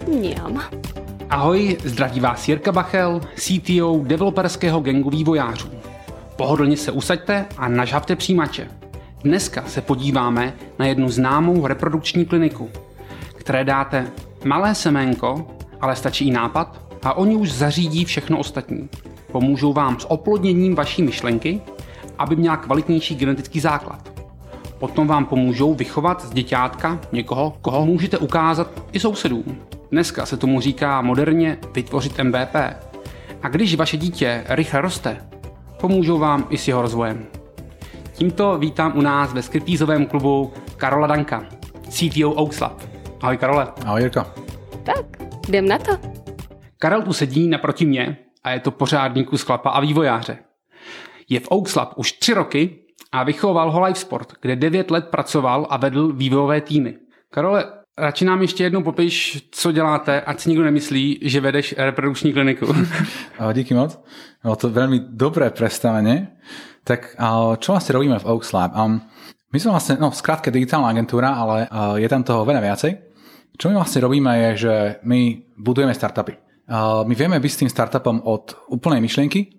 Mňam. Ahoj, zdraví vás Jirka Bachel, CTO developerského gangu vývojářů. Pohodlně se usaďte a nažhavte přijímače. Dneska se podíváme na jednu známou reprodukční kliniku, které dáte malé seménko, ale stačí i nápad a oni už zařídí všechno ostatní. Pomůžou vám s oplodněním vaší myšlenky, aby měla kvalitnější genetický základ. Potom vám pomůžou vychovat z děťátka někoho, koho můžete ukázat i sousedům. Dneska se tomu říká moderně vytvořit MVP. A když vaše dítě rychle roste, pomůžou vám i s jeho rozvojem. Tímto vítám u nás ve stripteaseovém klubu Karola Danka, CTO Oakslab. Ahoj Karole. Ahoj Jirka. Tak, jdem na to. Karel tu sedí naproti mě a je to pořádný kus chlapa a vývojáře. Je v Oakslab už 3 roky a vychoval ho LiveSport, kde 9 let pracoval a vedl vývojové týmy. Karole, radši nám ještě jednou popiš, co děláte, ať si nikdo nemyslí, že vedeš reprodukční kliniku. Díky moc. Bylo to veľmi dobré predstavenie. Tak čo vlastne robíme v Oakslab? My sme vlastne, skrátke digitálna agentúra, ale je tam toho veľa viacej. Čo my vlastne robíme je, že my budujeme startupy. My vieme byť s tým startupom od úplnej myšlienky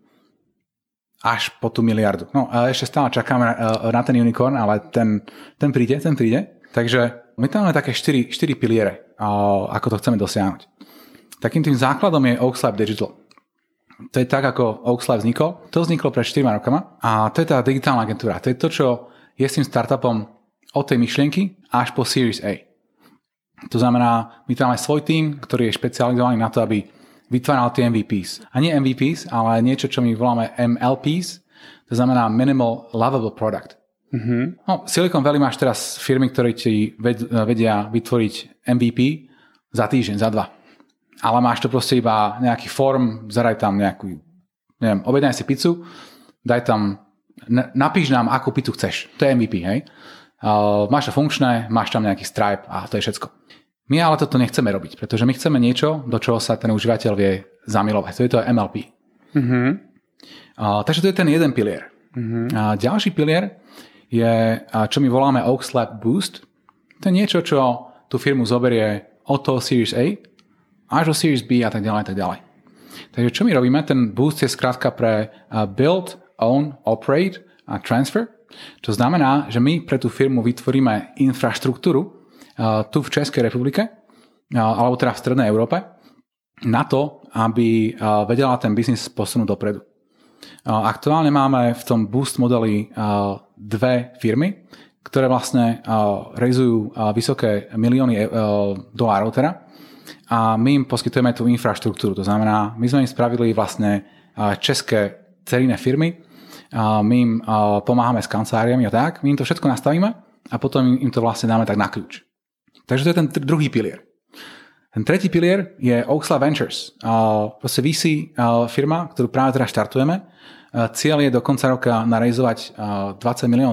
až po tú miliardu. No a ešte stále čakáme na ten unicorn, ale ten príde. Takže my tam máme také 4 piliere, ako to chceme dosiahnuť. Takým tým základom je Oakslab Digital. To je tak, ako Oakslab vznikol. To vzniklo pred 4 rokama a to je tá digitálna agentúra. To je to, čo je s tým startupom od tej myšlienky až po Series A. To znamená, my tam máme svoj tím, ktorý je špecializovaný na to, aby vytváral tie MVPs. A nie MVPs, ale niečo, čo my voláme MLPs, to znamená Minimal Lovable Product. Mm-hmm. No, Silicon Valley máš teraz firmy, ktoré ti vedia vytvoriť MVP za týždeň, za 2. Ale máš to proste iba nejaký form, zadaj tam nejakú, neviem, objednaj si pizzu, daj tam, napíš nám, akú pizzu chceš. To je MVP, hej? Máš to funkčné, máš tam nejaký Stripe a to je všetko. My ale toto nechceme robiť, pretože my chceme niečo, do čoho sa ten užívateľ vie zamilovať. To je to MLP. Mm-hmm. Takže to je ten jeden pilier. Mm-hmm. Ďalší pilier je, čo my voláme Oakslab Boost. To je niečo, čo tú firmu zoberie od toho Series A až do Series B a tak ďalej, tak ďalej. Takže čo my robíme? Ten boost je skrátka pre Build, Own, Operate a Transfer. Čo znamená, že my pre tú firmu vytvoríme infraštruktúru tu v Českej republike, alebo teda v Strednej Európe, na to, aby vedela ten biznis posunúť dopredu. Aktuálne máme v tom boost modeli 2 firmy, ktoré vlastne raizujú vysoké milióny dolárov teda, a my im poskytujeme tú infraštruktúru. To znamená, my sme im spravili vlastne české dcerinné firmy, my im pomáhame s kanceláriami a tak, my im to všetko nastavíme a potom im to vlastne dáme tak na kľúč. Takže to je ten druhý pilier. Ten tretí pilier je Oakslab Ventures. Proste VC firma, ktorú práve teraz štartujeme. Cieľ je do konca roka narejzovať $20 miliónov.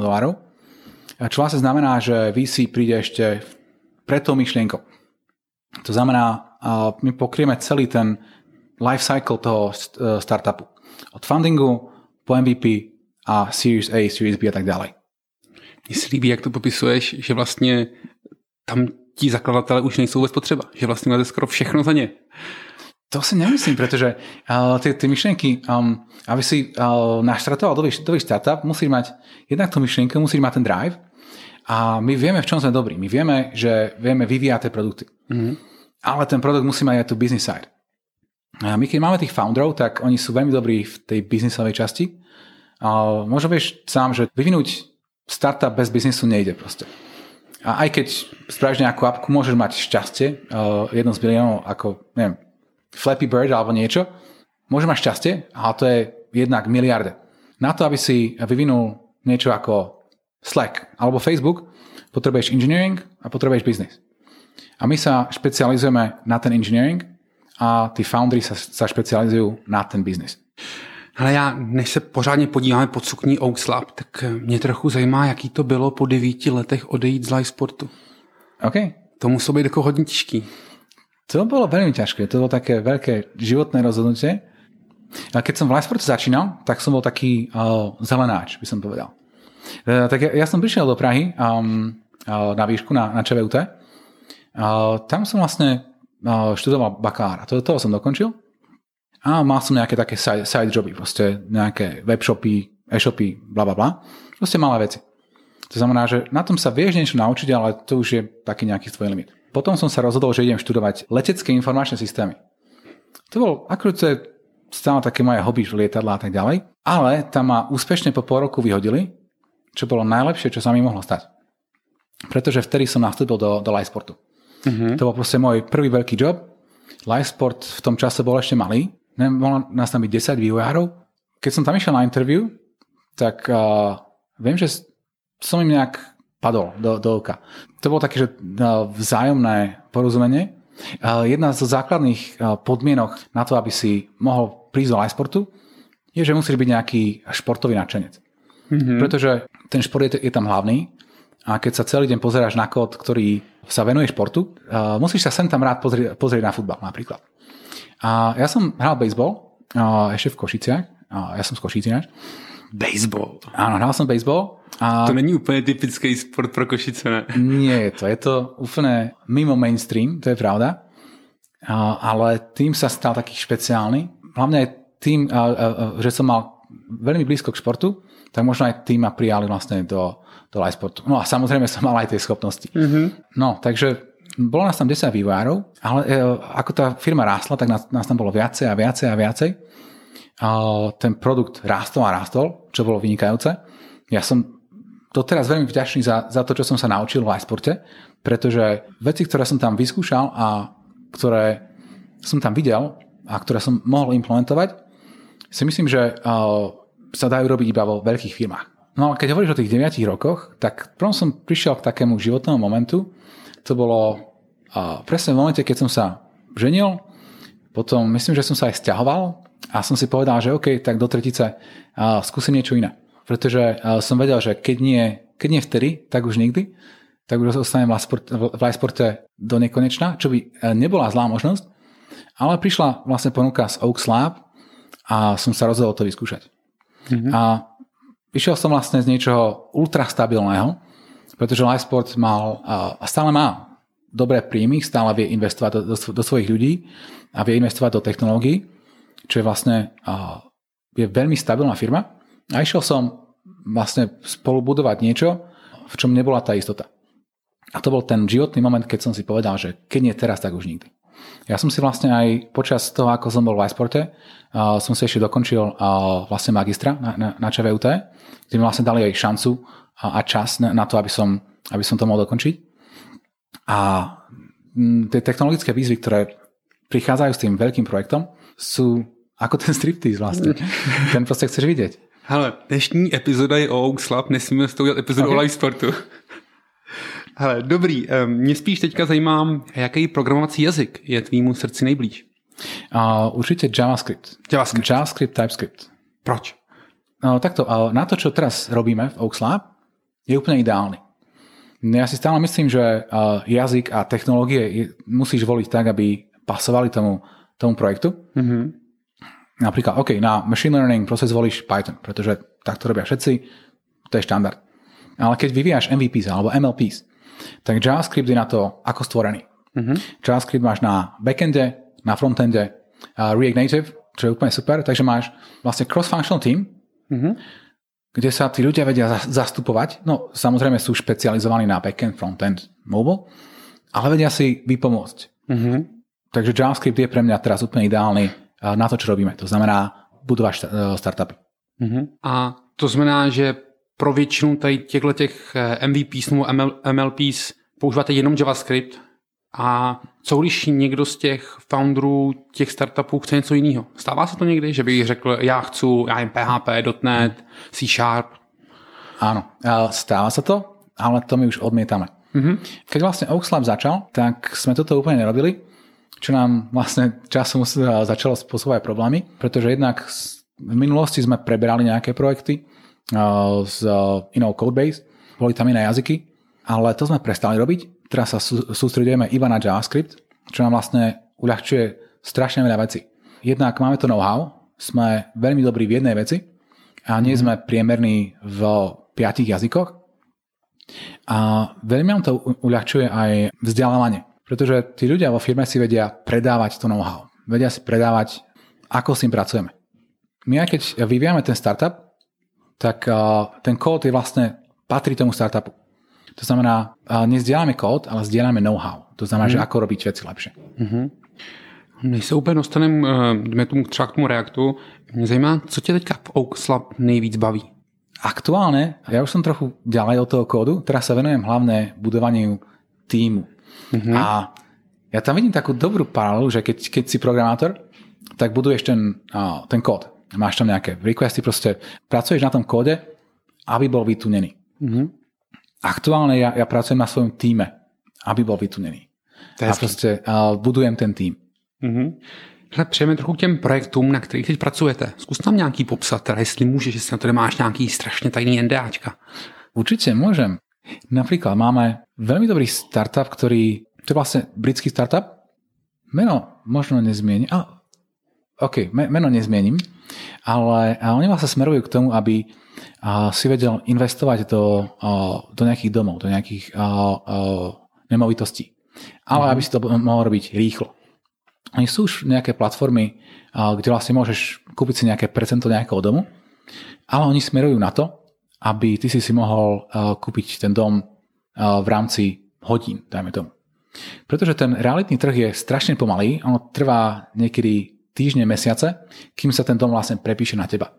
Čo vlastne znamená, že VC príde ešte pred tou myšlienkou. To znamená, my pokrieme celý ten life cycle toho startupu. Od fundingu po MVP a Series A, Series B a tak ďalej. Mně se líbí, jak to popisuješ, že vlastně tam tí zakladatelé už nejsou vůbec potřeba. Že vlastně máte skoro všechno za ně. To si nemyslím, pretože tie myšlienky, aby si naštartoval nový startup, musíš mať jednak tú myšlienku, musíš mať ten drive a my vieme, v čom sme dobrí. My vieme, že vieme vyvíjať tie produkty. Mm-hmm. Ale ten produkt musí mať aj tú business side. A my keď máme tých founderov, tak oni sú veľmi dobrí v tej businessovej časti. Možno vieš sám, že vyvinúť startup bez biznisu nejde proste. A aj keď spravíš nejakú appku, môžeš mať šťastie, jedno z biliónov ako, neviem, Flappy Bird alebo niečo, môžeš mať šťastie, ale to je jednak miliarde. Na to, aby si vyvinul niečo ako Slack alebo Facebook, potrebuješ engineering a potrebuješ business. A my sa špecializujeme na ten engineering a tí foundry sa špecializujú na ten business. Ale než se pořádně podíváme pod sukní Oakslab, tak mě trochu zajímá, jaký to bylo po 9 letech odejít z LiveSportu. OK. To muselo být jako hodně těžký. To bolo veľmi ťažké. To bolo také veľké životné rozhodnutie. A keď som v LiveSportu začínal, tak som bol taký zelenáč, by som povedal. Tak ja som prišiel do Prahy na výšku, na ČVUT. Tam som vlastne študoval bakalára. Toho som dokončil. A mal som nejaké také side joby, proste nejaké webshopy, e-shopy, blablabla. Proste malé veci. To znamená, že na tom sa vieš niečo naučiť, ale to už je taký nejaký tvoj limit. Potom som sa rozhodol, že idem študovať letecké informačné systémy. To bol, akože to je stále také moje hobby, lietadlá a tak ďalej. Ale tam ma úspešne po pol roku vyhodili, čo bolo najlepšie, čo sa mi mohlo stať. Pretože vtedy som nastúpil do Livesport. To bol proste môj prvý veľký job. Livesport v tom čase bol ešte malý. Mohlo nás tam byť 10 vývojárov. Keď som tam išiel na interview, tak viem, že som im nejak padol do oka. To bolo také, že vzájomné porozumenie. Jedna zo základných podmienok na to, aby si mohol prísť do Livesportu, je, že musíš byť nejaký športový nadšenec. Pretože ten šport je tam hlavný a keď sa celý deň pozeráš na kód, ktorý sa venuje športu, musíš sa sem tam rád pozrieť na futbal napríklad. A ja som hral baseball ešte v Košiciach. Ja som z Košíc ináč. Baseball. Áno, hral som baseball. To není úplně typický sport pro Košice, ne? Nie je to úplne mimo mainstream, to je pravda. Ale tým sa stal taký špeciálny. Hlavne aj tým, že som mal veľmi blízko k športu, tak možno aj tým ma prijali vlastne do Livesportu. No a samozrejme som mal aj tie schopnosti. No, takže bolo nás tam 10 vývojárov, ale ako tá firma rástla, tak nás tam bolo viacej a viacej a viacej. Ten produkt rástol a rástol, čo bolo vynikajúce. Ja som doteraz veľmi vďačný za to, čo som sa naučil v Livesporte, pretože veci, ktoré som tam vyskúšal a ktoré som tam videl a ktoré som mohol implementovať, si myslím, že sa dajú robiť iba vo veľkých firmách. No a keď hovoríš o tých 9 rokoch, tak prvom som prišiel k takému životnému momentu. To bolo presne v momente, keď som sa ženil, potom myslím, že som sa aj sťahoval a som si povedal, že OK, tak do tretice skúsim niečo iné. Pretože som vedel, že keď nie vtedy, tak už nikdy, tak už ostanem v Livesporte do nekonečna, čo by nebola zlá možnosť, ale prišla vlastne ponuka z Oaks Lab a som sa rozhodol to vyskúšať. A išiel som vlastne z niečoho ultrastabilného, pretože Livesport mal a stále má dobré príjmy, stále vie investovať do svojich ľudí a vie investovať do technológií, čo je vlastne je veľmi stabilná firma. A išiel som vlastne spolubudovať niečo, v čom nebola tá istota. A to bol ten životný moment, keď som si povedal, že keď nie teraz, tak už nikdy. Ja som si vlastne aj počas toho, ako som bol v Livesporte, som si ešte dokončil vlastne magistra na ČVUT, kde mi vlastne dali aj šancu a čas na to, aby som to mohol dokončiť. A tie technologické výzvy, ktoré prichádzajú s tým veľkým projektom, sú ako ten striptease vlastne. Ten proste chceš vidieť. Hele, dnešní epizoda je o Oaks Lab, nesmíme s tou dělat epizodu o Livesportu. Hele, dobrý, mě spíš teďka zajímá, jaký programovací jazyk je tvýmu srdci nejblíž? Určite JavaScript, TypeScript. Proč? Takto, na to, čo teraz robíme v Oaks Lab, je úplne ideálny. Ja si stále myslím, že jazyk a technológie musíš voliť tak, aby pasovali tomu projektu. Napríklad, OK, na machine learning proces volíš Python, pretože takto robia všetci, to je štandard. Ale keď vyvíjaš MVPs alebo MLPs, tak JavaScript je na to ako stvorený. JavaScript máš na backende, na frontende, React Native, čo je úplne super, takže máš vlastne cross-functional team, kde sa tí ľudia vedia zastupovať. No, samozrejme sú špecializovaní na backend, frontend, mobile, ale vedia si vypomôcť. Takže JavaScript je pre mňa teraz úplne ideálny na to, čo robíme. To znamená budovať startupy. A to znamená, že pro většinu tady těchto MVPs nebo MLPs používáte jenom JavaScript a co když někdo z těch founderů těch startupů chce něco jiného? Stává se to někdy, že bych řekl, já jen PHP, .NET, C#? Áno, stáva sa to, ale to my už odmietame. Keď vlastne Oaks Lab začal, tak sme toto úplne nerobili, čo nám vlastne časom začalo spôsobovať problémy, pretože jednak v minulosti sme preberali nejaké projekty z inou codebase, boli tam iné jazyky, ale to sme prestali robiť. Teraz sa sústredujeme iba na JavaScript, čo nám vlastne uľahčuje strašne veľa vecí. Jednak máme to know-how, sme veľmi dobrí v jednej veci a nie sme priemerní v 5 jazykoch. A veľmi nám to uľahčuje aj vzdelávanie. Pretože tí ľudia vo firme si vedia predávať to know-how. Vedia si predávať, ako s tým pracujeme. My aj keď vyvíjame ten startup, tak ten kód je vlastne patrí tomu startupu. To znamená, nezdieľame kód, ale zdieľame know-how. To znamená, že ako robiť veci lepšie. Než se úplně jdeme třeba k tomu Reactu, mě zajímá, co tě teďka v Oaks Lab nejvíc baví? Aktuálne, ja už som trochu ďalej od toho kódu, teraz sa venujem hlavne budovaniu tímu. A ja tam vidím takú dobrú paralelu, že keď si programátor, tak buduješ ten kód. Máš tam nejaké requesty, proste pracuješ na tom kóde, aby bol vytunený. Aktuálne ja pracujem na svojom týme, aby bol vytunený. A proste budujem ten tým. Přejeme trochu k těm projektům, na kterých teď pracujete. Zkus tam nějaký popsat, teda jestli můžeš, jestli na to nemáš nějaký strašně tajný NDAčka. Určite môžem. Napríklad máme veľmi dobrý startup, ktorý, to je vlastne britský startup. Meno možno nezmienim. Meno nezmienim, ale oni vlastne smerujú k tomu, aby si vedel investovať do nejakých domov, do nejakých nemovitostí. Ale aby si to mohol robiť rýchlo. Oni sú už nejaké platformy, kde vlastne môžeš kúpiť si nejaké percento nejakého domu, ale oni smerujú na to, aby ty si mohol kúpiť ten dom v rámci hodín, dajme tomu. Pretože ten realitný trh je strašne pomalý, ono trvá niekedy týždne, mesiace, kým sa ten dom vlastne prepíše na teba.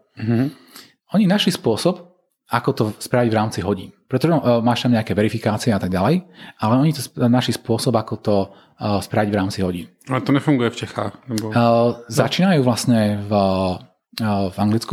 Oni našli spôsob, ako to spraviť v rámci hodín. Pretože máš tam nejaké verifikácie a tak ďalej, ale oni to našli spôsob, ako to spraviť v rámci hodín. Ale to nefunguje v Čechách? Nebo... Začínajú vlastne v Anglicku,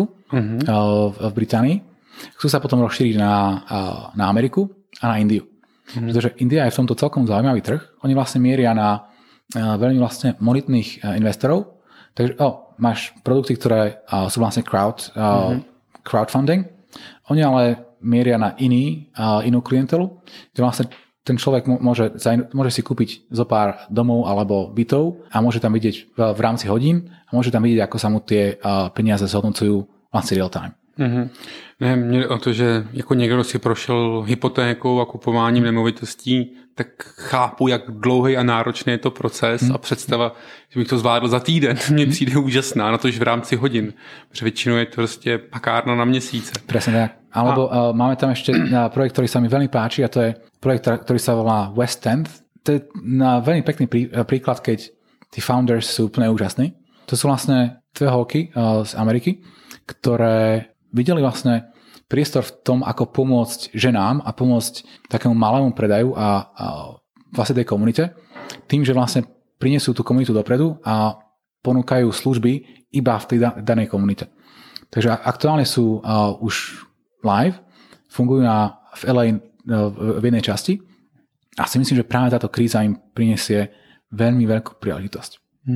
v Británii. Chcú sa potom rozšíriť na Ameriku a na Indiu. Pretože India je v tomto celkom zaujímavý trh. Oni vlastne mieria na veľmi vlastne monetných investorov. Takže máš produkty, ktoré sú vlastne crowdfunding. Oni ale mieria na inú klientelu, kde vlastne ten človek môže si kúpiť zo pár domov alebo bytov a môže tam vidieť v rámci hodín a môže tam vidieť, ako sa mu tie peniaze zhodnocujú vlastne real time. Ne, mě o to, že jako někdo si prošel hypotékou a kupováním nemovitostí, tak chápu, jak dlouhý a náročný je to proces a představa, že bych to zvládl za týden, mně přijde úžasná, na to, že v rámci hodin, protože většinou je to prostě pakárna na měsíce. Presne tak. Alebo máme tam ešte projekt, ktorý sa mi veľmi páči a to je projekt, ktorý sa volá West End. To je veľmi pekný príklad, keď tí founders sú úplne úžasní. To sú vlastne dve holky z Ameriky, ktoré videli vlastne priestor v tom, ako pomôcť ženám a pomôcť takému malému predaju a vlastne tej komunite, tým, že vlastne prinesú tú komunitu dopredu a ponúkajú služby iba v tej danej komunite. Takže aktuálne sú už live, fungujú v LA v jednej časti a si myslím, že práve táto kríza im prinesie veľmi veľkú príležitosť.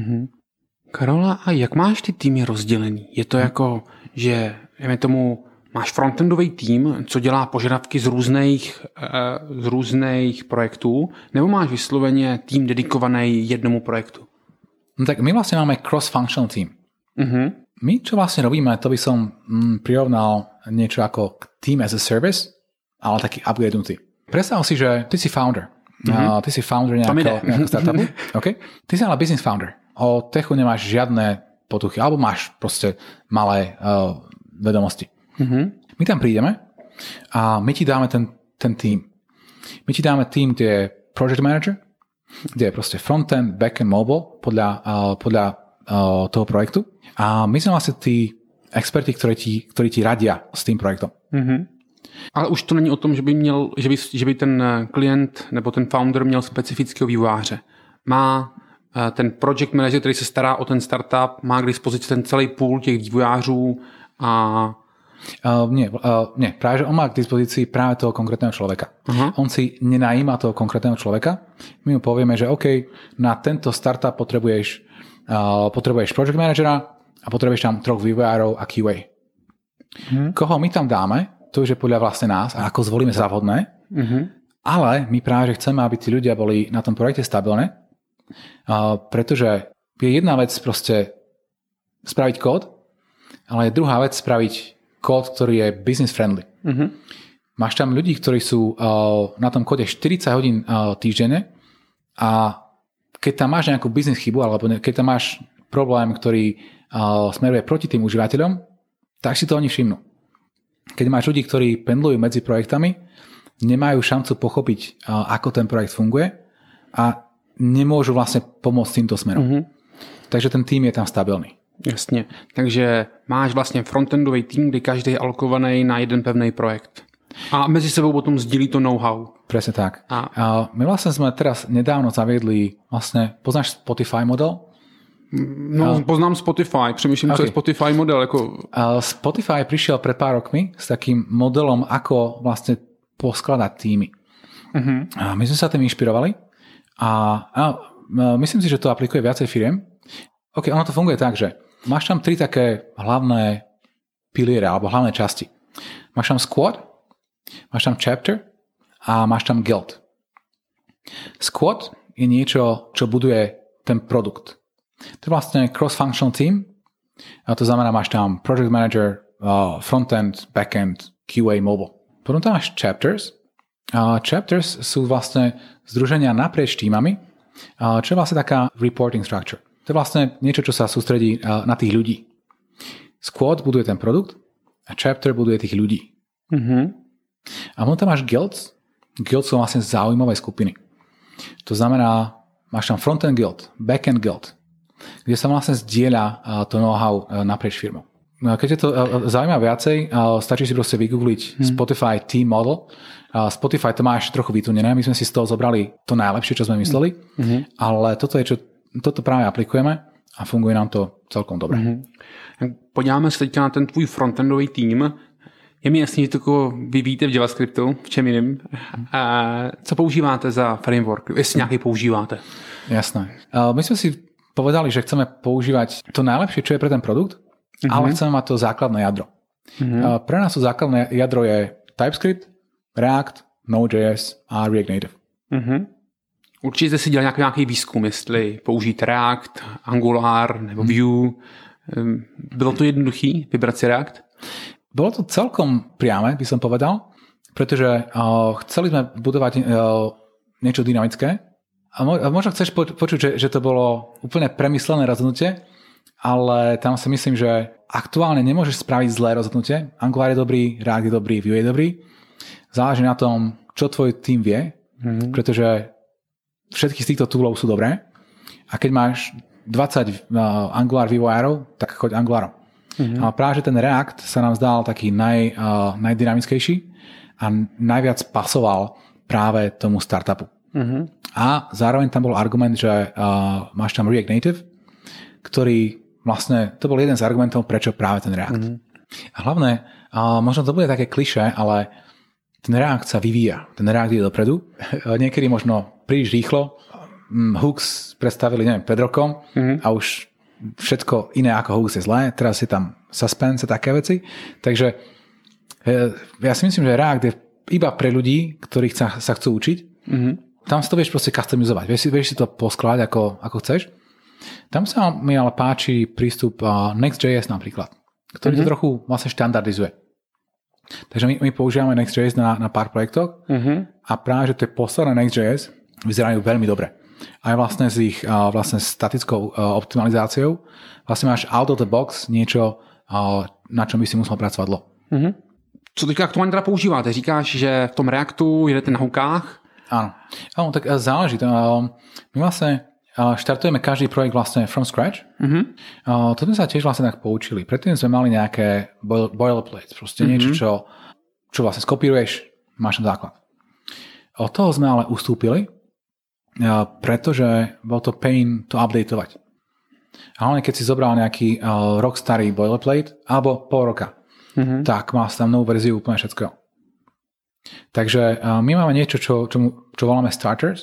Karola, a jak máš ty týmy rozdělený? Je to jako, že máš frontendový tým, co dělá požadavky z různých projektů, nebo máš vysloveně tým dedikovaný jednomu projektu? No tak my vlastne máme cross-functional team. My, čo vlastne robíme, to by som prirovnal niečo ako team as a service, ale taký upgradenutý. Predstav si, že ty si founder. Ty si founder nejakého startupu. Okay? Ty si ale business founder. O techu nemáš žiadne potuchy, alebo máš proste malé vedomosti. My tam prídeme a my ti dáme ten tým. My ti dáme tým, kde je project manager, kde je proste frontend, backend, mobile podľa toho projektu. A my sme vlastne tí experti, ktorí ti radia s tým projektom. Ale už to není o tom, že by ten klient nebo ten founder měl specifického vývojáře. Má ten project manager, který se stará o ten startup, má k dispozici ten celý pool těch vývojářů a... Nie, práve že on má k dispozícii práve toho konkrétneho človeka. On si nenajíma toho konkrétneho človeka. My mu povieme, že OK, na tento startup potrebuješ project managera a potrebuješ tam 3 vývojárov a QA. Koho my tam dáme, to už je podľa vlastne nás a ako zvolíme za vhodné, ale my práve že chceme, aby tí ľudia boli na tom projekte stabilné, pretože je jedna vec proste spraviť kód, ale je druhá vec spraviť kód, ktorý je business friendly. Máš tam ľudí, ktorí sú na tom kóde 40 hodín týždenne a keď tam máš nejakú biznis chybu, alebo keď tam máš problém, ktorý smeruje proti tým užívateľom, tak si to oni všimnú. Keď máš ľudí, ktorí pendlujú medzi projektami, nemajú šancu pochopiť, ako ten projekt funguje a nemôžu vlastne pomôcť týmto smerom. Takže ten tým je tam stabilný. Jasně. Takže máš vlastně frontendový tým, kdy každý je alokovaný na jeden pevný projekt. A mezi sebou potom sdílí to know-how. Presne tak. A my vlastne sme teraz nedávno zaviedli, vlastne, poznáš Spotify model? No, poznám Spotify, přemýšlím, co je Spotify model. Jako... Spotify prišiel pred pár rokmi s takým modelom, ako vlastne poskladať týmy. A my sme sa tým inšpirovali a myslím si, že to aplikuje viacej firiem. OK, ono to funguje tak, že máš tam 3 také hlavné piliere alebo hlavné časti. Máš tam squad, máš tam chapter a máš tam guild. Squad je niečo, čo buduje ten produkt. To je vlastne cross-functional team. A to znamená, máš tam project manager, frontend, backend, QA, mobile. Potom tam máš chapters. Chapters sú vlastne združenia naprieč týmami, čo je vlastne taká reporting structure. To je vlastne niečo, čo sa sústredí na tých ľudí. Squad buduje ten produkt a chapter buduje tých ľudí. A potom tam máš guilds. Guilds sú vlastne zaujímavé skupiny. To znamená, máš tam frontend guild, backend guild, kde sa vlastne zdieľa to know-how naprieč firmou. Keď je to zaujíma viacej, stačí si proste vygoogliť Spotify Team Model. Spotify to máš trochu vytunené, my sme si z toho zobrali to najlepšie, čo sme mysleli, ale toto práve aplikujeme a funguje nám to celkom dobre. Podíváme se teďka na ten tvůj frontendový tým. Je mi jasný, že to vy víte v JavaScriptu, v čem jiným. Co používáte za framework? Jestli nějaký používáte? Jasné. My sme si povedali, že chceme používať to najlepšie, čo je pre ten produkt, ale chceme mať to základné jadro. Pre nás to základné jadro je TypeScript, React, Node.js a React Native. Určitě si dělal nějaký výzkum, jestli použít React, Angular nebo Vue. Bylo to jednoduchý vybrat si React? Bolo to celkom priame, by som povedal, pretože chceli sme budovať niečo dynamické. A možno chceš počuť, že to bolo úplne premyslené rozhodnutie, ale tam si myslím, že aktuálne nemôžeš spraviť zlé rozhodnutie. Angular je dobrý, React je dobrý, Vue je dobrý. Záleží na tom, čo tvoj tým vie, pretože všetky z týchto toolov sú dobré. A keď máš 20 Angular vývojárov, tak choď Angularom. A práve, že ten React sa nám zdal taký najdynamickejší a najviac pasoval práve tomu startupu. A zároveň tam bol argument, že máš tam React Native, ktorý vlastne, to bol jeden z argumentov, prečo práve ten React. A hlavne, možno to bude také klišé, ale ten React sa vyvíja. Ten React ide dopredu. Niekedy možno príliš rýchlo. Hooks predstavili, neviem, pred rokom a už všetko iné ako Hooks je zlé. Teraz je tam suspense a také veci. Takže ja si myslím, že React je iba pre ľudí, ktorí sa chcú učiť. Tam si to vieš proste customizovať. Vieš si to poskladať ako chceš. Tam sa mi ale páči prístup Next.js napríklad, ktorý to trochu vlastne štandardizuje. Takže my používame Next.js na pár projektoch a práve, že tie posledné Next.js vyzerajú veľmi dobre. Aj vlastne s ich vlastne statickou optimalizáciou vlastne máš out of the box niečo, na čom by si musel pracovať dlho. Co teďka aktuálně teda používáte? Říkáš, že v tom Reactu jedete na hookách? Áno, tak záleží. My vlastne štartujeme každý projekt vlastne from scratch. To sme sa tiež vlastne tak poučili. Predtým sme mali nejaké boilerplates, proste niečo, čo vlastne skopíruješ, máš tam základ. Od toho sme ale ustúpili, pretože bol to pain to updateovať. Hlavne keď si zobral nejaký rok starý boilerplate, alebo pol roka, tak má tam novú verziu úplne všetkého. Takže my máme niečo, čo voláme starters.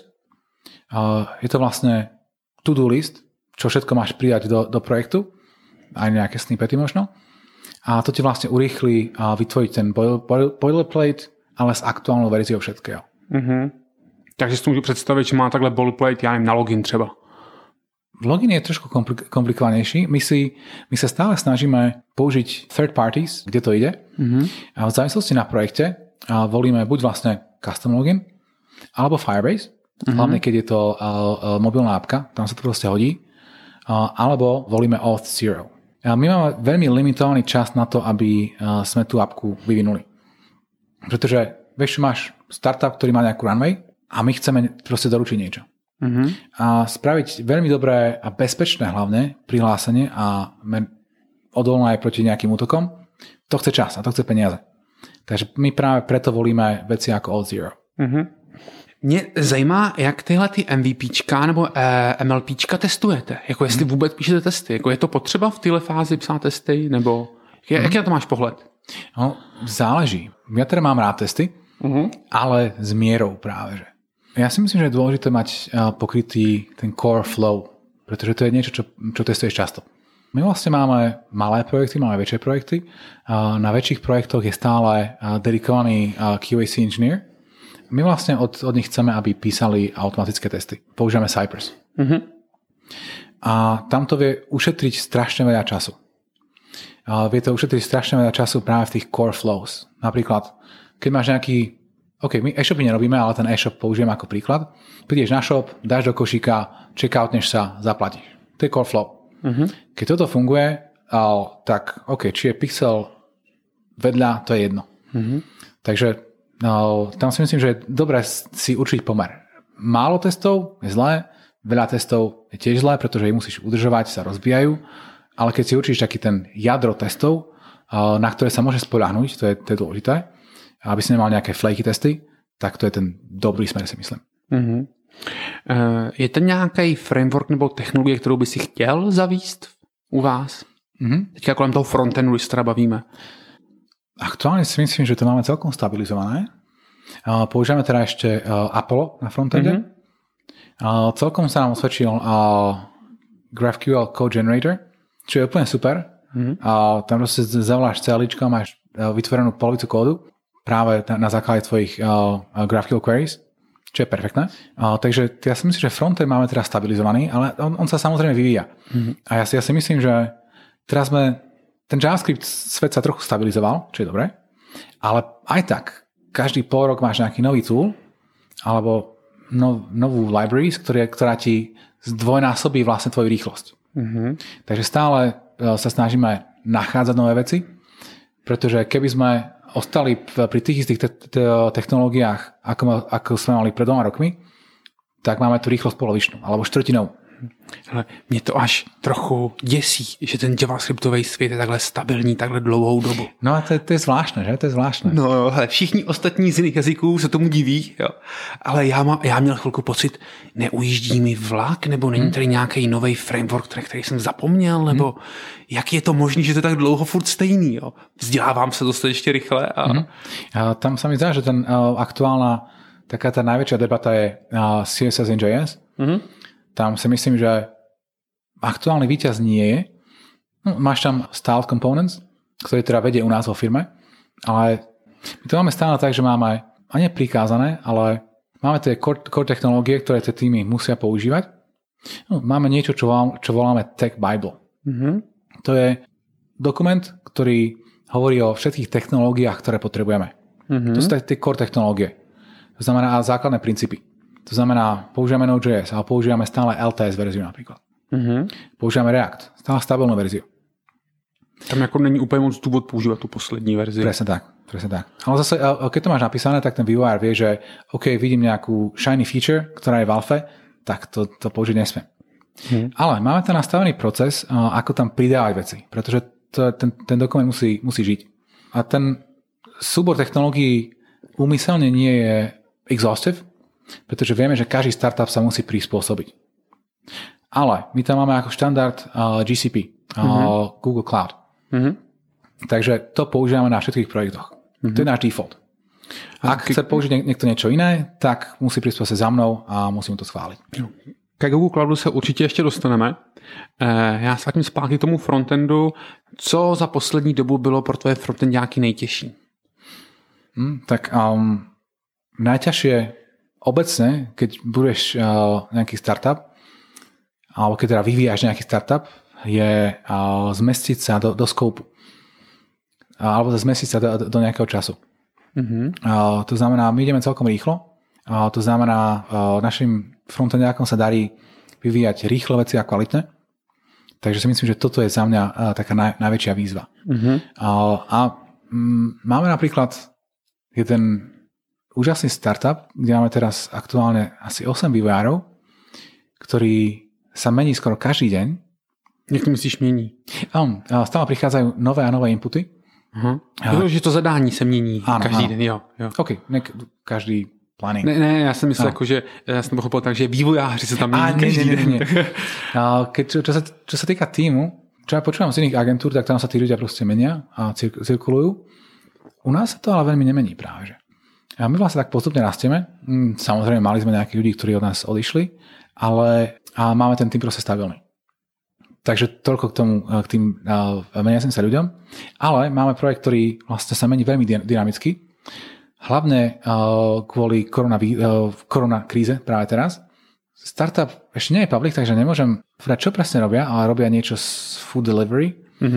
Je to vlastne to-do list, čo všetko máš pridať do projektu, aj nejaké snippety možno. A to ti vlastne urýchli vytvoriť ten boilerplate, ale s aktuálnou verziou všetkého. Takže si to můžu představit, že má takhle boilerplate, já nevím, na login třeba. Login je trošku komplikovanejší. My sa stále snažíme použiť third parties, kde to ide. A v závislosti na projekte volíme buď vlastne custom login, alebo Firebase. Hlavne, keď je to mobilná apka, tam sa to proste hodí. Alebo volíme Auth0. My máme veľmi limitovaný čas na to, aby sme tú apku vyvinuli. Pretože vieš, máš startup, ktorý má nejakú runway a my chceme proste doručiť niečo. A spraviť veľmi dobré a bezpečné hlavne prihlásenie a odolné aj proti nejakým útokom, to chce čas a to chce peniaze. Takže my práve preto volíme veci ako Auth0. Mě zajímá, jak tyhle ty MVPčka nebo MLPčka testujete. Jako jestli vůbec píšete testy. Jako je to potřeba v téhle fázi psát testy? Nebo jaký na to máš pohled? No, záleží. Ja teda mám rád testy, ale s mierou práve. Že. Ja si myslím, že je dôležité mať pokrytý ten core flow, pretože to je niečo, čo testuješ často. My vlastne máme malé projekty, máme väčšie projekty. Na väčších projektoch je stále dedikovaný QAC engineer. My vlastne od nich chceme, aby písali automatické testy. Používame Cypress. A tam to vie ušetriť strašne veľa času. Vie to ušetriť strašne veľa času práve v tých core flows. Napríklad, keď máš nejaký... OK, my e-shopy nerobíme, ale ten e-shop použijem ako príklad. Prídeš na shop, dáš do košíka, checkoutneš sa, zaplatíš. To je core flow. Keď toto funguje, tak OK, či je pixel vedľa, to je jedno. Takže tam si myslím, že je dobré si určiť pomer. Málo testov je zlé, veľa testov je tiež zlé, pretože ich musíš udržovať, sa rozbijajú, ale keď si určíš taký ten jadro testov, na ktoré sa môže spoľahnúť, to je dôležité, aby si nemal nejaké flaky testy, tak to je ten dobrý smer, si myslím. Je to nějaký framework nebo technologie, kterou by si chtěl zavíst u vás? Teďka kolem toho frontendu, když se teda bavíme. Aktuálne si myslím, že to máme celkom stabilizované. Používame teda ešte Apollo na frontende. Celkom sa nám osvedčil GraphQL Code Generator, čo je úplne super. Tam proste zavoláš CLIčko a máš vytvorenú polovicu kódu práve na základe tvojich GraphQL queries, čo je perfektné. Takže ja si myslím, že frontend máme teda stabilizovaný, ale on sa samozrejme vyvíja. A ja si myslím, že teraz ten JavaScript svet sa trochu stabilizoval, čo je dobré, ale aj tak, každý pol rok máš nejaký nový tool alebo novú library, ktorá ti zdvojnásobí vlastne tvoju rýchlosť. Takže stále sa snažíme nachádzať nové veci, pretože keby sme ostali pri tých istých technológiách, ako sme mali pred 2 rokmi, tak máme tu rýchlosť polovičnú alebo štvrtinou. Hele, mě to až trochu děsí, že ten javascriptový svět je takhle stabilní, takhle dlouhou dobu. No a to je zvláštne, že? To je zvláštne. No jo, hele, všichni ostatní z jiných jazyků se tomu diví, jo. Ale já měl chvilku pocit, neujíždí mi vlak, nebo není tady nějaký nový framework, který jsem zapomněl, nebo jak je to možné, že to je tak dlouho furt stejný, jo. Vzdělávám se dostatečně rychle. A tam sa mi zdá, že ten aktuálna, taká tá najväčšia debata je CSS in JS. Tam si myslím, že aktuálny víťaz nie je. No, máš tam styled components, ktoré teda vedie u nás vo firme, ale my to máme stále tak, že máme ani prikázané, ale máme tie core technológie, ktoré tie týmy musia používať. No, máme niečo, čo voláme Tech Bible. To je dokument, ktorý hovorí o všetkých technológiách, ktoré potrebujeme. To sú tie core technológie. To znamená základné princípy. To znamená, používame Node.js, ale používame stále LTS verziu napríklad. Používame React, stále stabilnú verziu. Tam jako není úplně moc důvod používat tu poslední verzi. Presne tak. Ale zase, keď to máš napísané, tak ten vývojár vie, že OK, vidím nejakú shiny feature, ktorá je v alfe, tak to použiť nesmiem. Ale máme tam nastavený proces, ako tam pridávať veci, pretože ten dokument musí žiť. A ten súbor technológií úmyselne nie je exhaustive, pretože vieme, že každý startup sa musí prispôsobiť. Ale my tam máme ako štandard GCP, Google Cloud. Takže to používame na všetkých projektoch. To je náš default. Ak chce použiť niekto niečo iné, tak musí prispôsobiť za mnou a musím to schváliť. Ke Google Cloudu se určitě ještě dostaneme. Já se vrátím zpátky k tomu frontendu. Co za poslední dobu bylo pro tvoje frontendáky nejtěžší? Tak najťažšie obecne, keď budeš nejaký startup, alebo keď teda vyvíjaš nejaký startup, je zmestiť sa do skoupu. Alebo zmestiť sa do nejakého času. To znamená, my ideme celkom rýchlo To znamená, našim frontendiákom sa darí vyvíjať rýchle veci a kvalitné. Takže si myslím, že toto je za mňa taká najväčšia výzva. Máme napríklad jeden úžasný startup, kde máme teraz aktuálne asi 8 vývojárov, ktorí sa mení skoro každý deň. Jak to myslíš mění? Stále prichádzajú nové a nové inputy. Že to zadání se mění každý den, jo. OK, každý planning. Ne, já jsem myslel, že já jsem pochopil tak, že vývojáři se tam mění každý den. Čo sa týka týmu, čo ja počúvam z iných agentúr, tak tam sa tí ľudia proste menia a cirkulujú. U nás sa to ale veľmi nemení práve. A my vlastne tak postupne rastieme. Samozrejme, mali sme nejakých ľudí, ktorí od nás odišli, ale máme ten tým proste stabilný. Takže toľko k tým meniacim sa ľuďom. Ale máme projekt, ktorý vlastne sa mení veľmi dynamicky. Hlavne kvôli korona kríze práve teraz. Startup ešte nie je public, takže nemôžem povedať, čo presne robia, ale robia niečo s food delivery.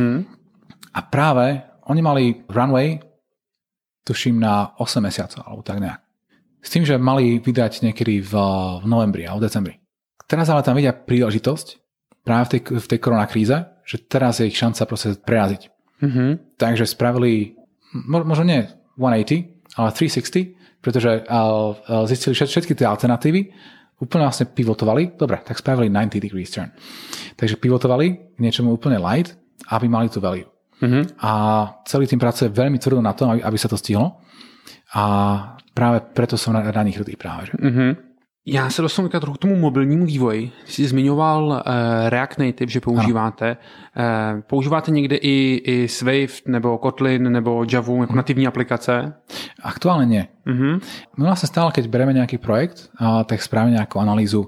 A práve oni mali runway, tuším, na 8 mesiacov, alebo tak nejak. S tým, že mali vydať niekedy v novembri alebo v decembri. Teraz ale tam vidia príležitosť práve v tej koronakríze, že teraz je ich šanca proste preraziť. Takže spravili, možno nie 180, ale 360, pretože zistili všetky tie alternatívy, úplne vlastne pivotovali, dobre, tak spravili 90 degrees turn. Takže pivotovali k niečomu úplne light, aby mali tú value. A celý tým pracuje veľmi tvrdo na tom, aby sa to stihlo. A práve preto som na nich hrdý práve. Že? Já se dostanu trochu k tomu mobilnímu vývoji. Jsi zmiňoval React Native, že používáte. Používáte někde i Swift, nebo Kotlin, nebo Javu jako nativní aplikace? Aktuálne nie. My vlastne stále, keď bereme nejaký projekt, tak spravíme nejakú analýzu,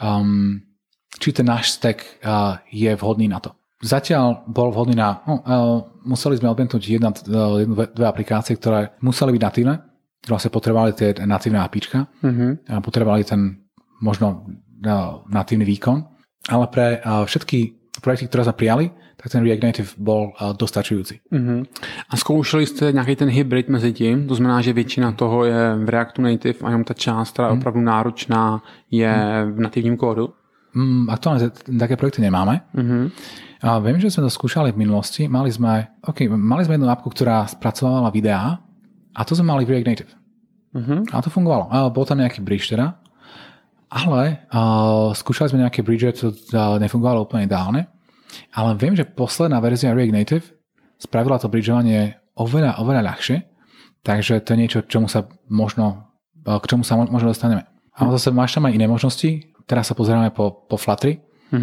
či ten náš stack je vhodný na to. Zatiaľ bol vhodný na... museli sme odbenúť dve aplikácie, ktoré museli byť natívne. Vlastne potrebovali tie natívne APIčka. A potrebovali ten možno natívny výkon. Ale pre všetky projekty, ktoré sme prijali, tak ten React Native bol dostačujúci. A zkoušeli jste nějaký ten hybrid mezi tím? To znamená, že většina toho je v Reactu Native a jenom ta část, která je opravdu náročná, je v nativním kódu? Aktuálne také projekty nemáme. A viem, že sme to skúšali v minulosti. Mali sme jednu appku, ktorá spracovala videá a to sme mali v React Native. A to fungovalo. Bol tam nejaký bridge teda, ale skúšali sme nejaké bridge, to nefungovalo úplne ideálne. Ale viem, že posledná verzia React Native spravila to bridžovanie oveľa ľahšie, takže to je niečo, k čomu sa možno dostaneme. A zase máš tam aj iné možnosti. Teraz sa pozeráme po Flutteri.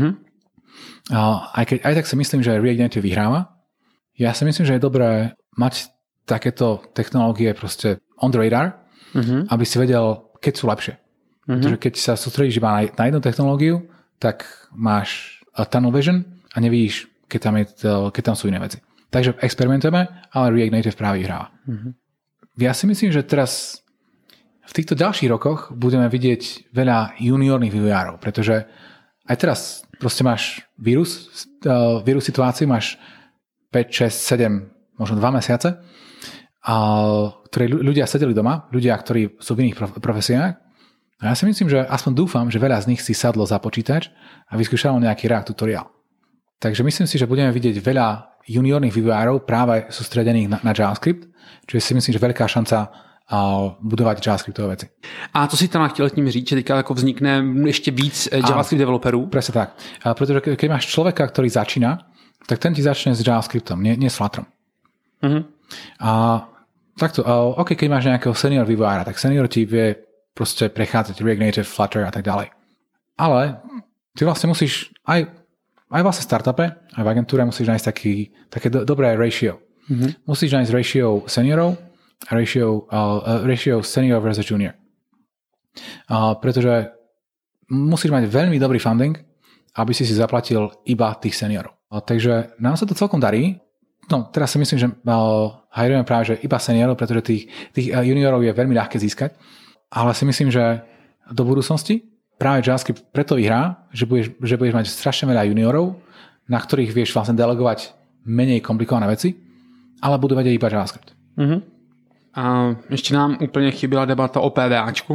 Aj tak si myslím, že React Native vyhráva. Ja si myslím, že je dobré mať takéto technológie proste on the radar, aby si vedel, keď sú lepšie. Pretože keď sa sústredíš iba na jednu technológiu, tak máš tunnel vision a nevidíš, keď tam sú iné veci. Takže experimentujeme, ale React Native práve vyhráva. Ja si myslím, že teraz v týchto ďalších rokoch budeme vidieť veľa juniorných vývojárov, pretože aj teraz proste máš vírus situáciu, máš 5, 6, 7, možno 2 mesiace, ktorí ľudia sedeli doma, ľudia, ktorí sú v iných profesiách. A ja si myslím, že aspoň dúfam, že veľa z nich si sadlo za počítač a vyskúšalo nejaký React tutoriál. Takže myslím si, že budeme vidieť veľa juniorných vývojárov práve sústredených na JavaScript, čiže si myslím, že veľká šanca budovat JavaScriptové věci. A co si tam chtěl tím říct, že teďka jako vznikne ještě víc JavaScript developerů? Presne tak. Protože keď máš človeka, ktorý začína, tak ten ti začne s JavaScriptom, nie s Flutterom. A takto, keď máš nejakého senior vývojára, tak senior ti vie proste prechádzať React Native, Flutter a tak ďalej. Ale ty vlastne musíš aj vlastne v startupe, aj v agentúre musíš nájsť také dobré ratio. Musíš nájsť ratio seniorov a ratio senior versus junior. Pretože musíš mať veľmi dobrý funding, aby si zaplatil iba tých seniorov. Takže nám sa to celkom darí. No, teraz si myslím, že hajrujeme práve že iba seniorov, pretože tých juniorov je veľmi ľahké získať. Ale si myslím, že do budúcnosti práve JavaScript preto vyhrá, že budeš mať strašne veľa juniorov, na ktorých vieš vlastne delegovať menej komplikované veci, ale budú vedieť iba JavaScript. A ještě nám úplně chyběla debata o PVAčku.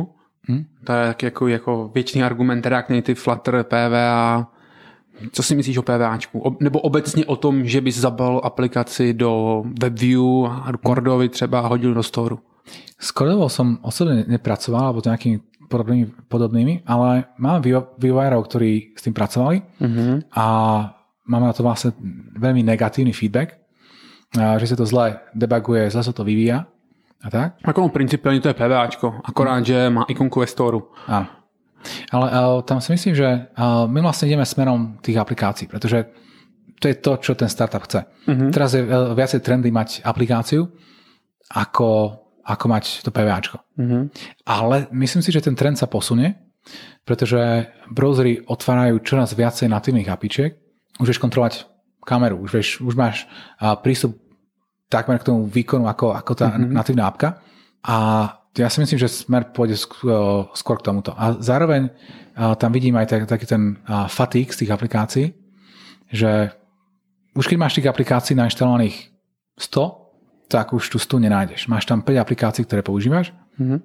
To je taky jako věčný argument React Native, Flutter, PWA. Co si myslíš o PWAčku? Nebo obecně o tom, že bys zabal aplikaci do WebView a do Cordovy třeba a hodil do Storu? S Cordovou som osobne nepracoval, alebo to nejakými podobnými, ale máme vývojárov, ktorí s tým pracovali a máme na to vlastne veľmi negatívny feedback, že sa to zle debuguje, zle sa to vyvíja a tak. Ako principiálne to je PWAčko, akorát, že má ikonku ve Storu. Áno. Ale tam si myslím, že my vlastne ideme smerom tých aplikácií, pretože to je to, čo ten startup chce. Teraz je viacej trendy mať aplikáciu, ako mať to PWAčko. Ale myslím si, že ten trend sa posunie, pretože browsery otvárajú čoraz viacej natívnych apičiek. Už vieš kontrolovať kameru, už máš prístup takmer k tomu výkonu ako tá natívna apka. A ja si myslím, že smer pôjde skôr k tomuto. A zároveň tam vidím aj taký ten fatigue z tých aplikácií, že už keď máš tých aplikácií nainštalovaných 100, tak už tu 100 nenájdeš. Máš tam 5 aplikácií, ktoré používaš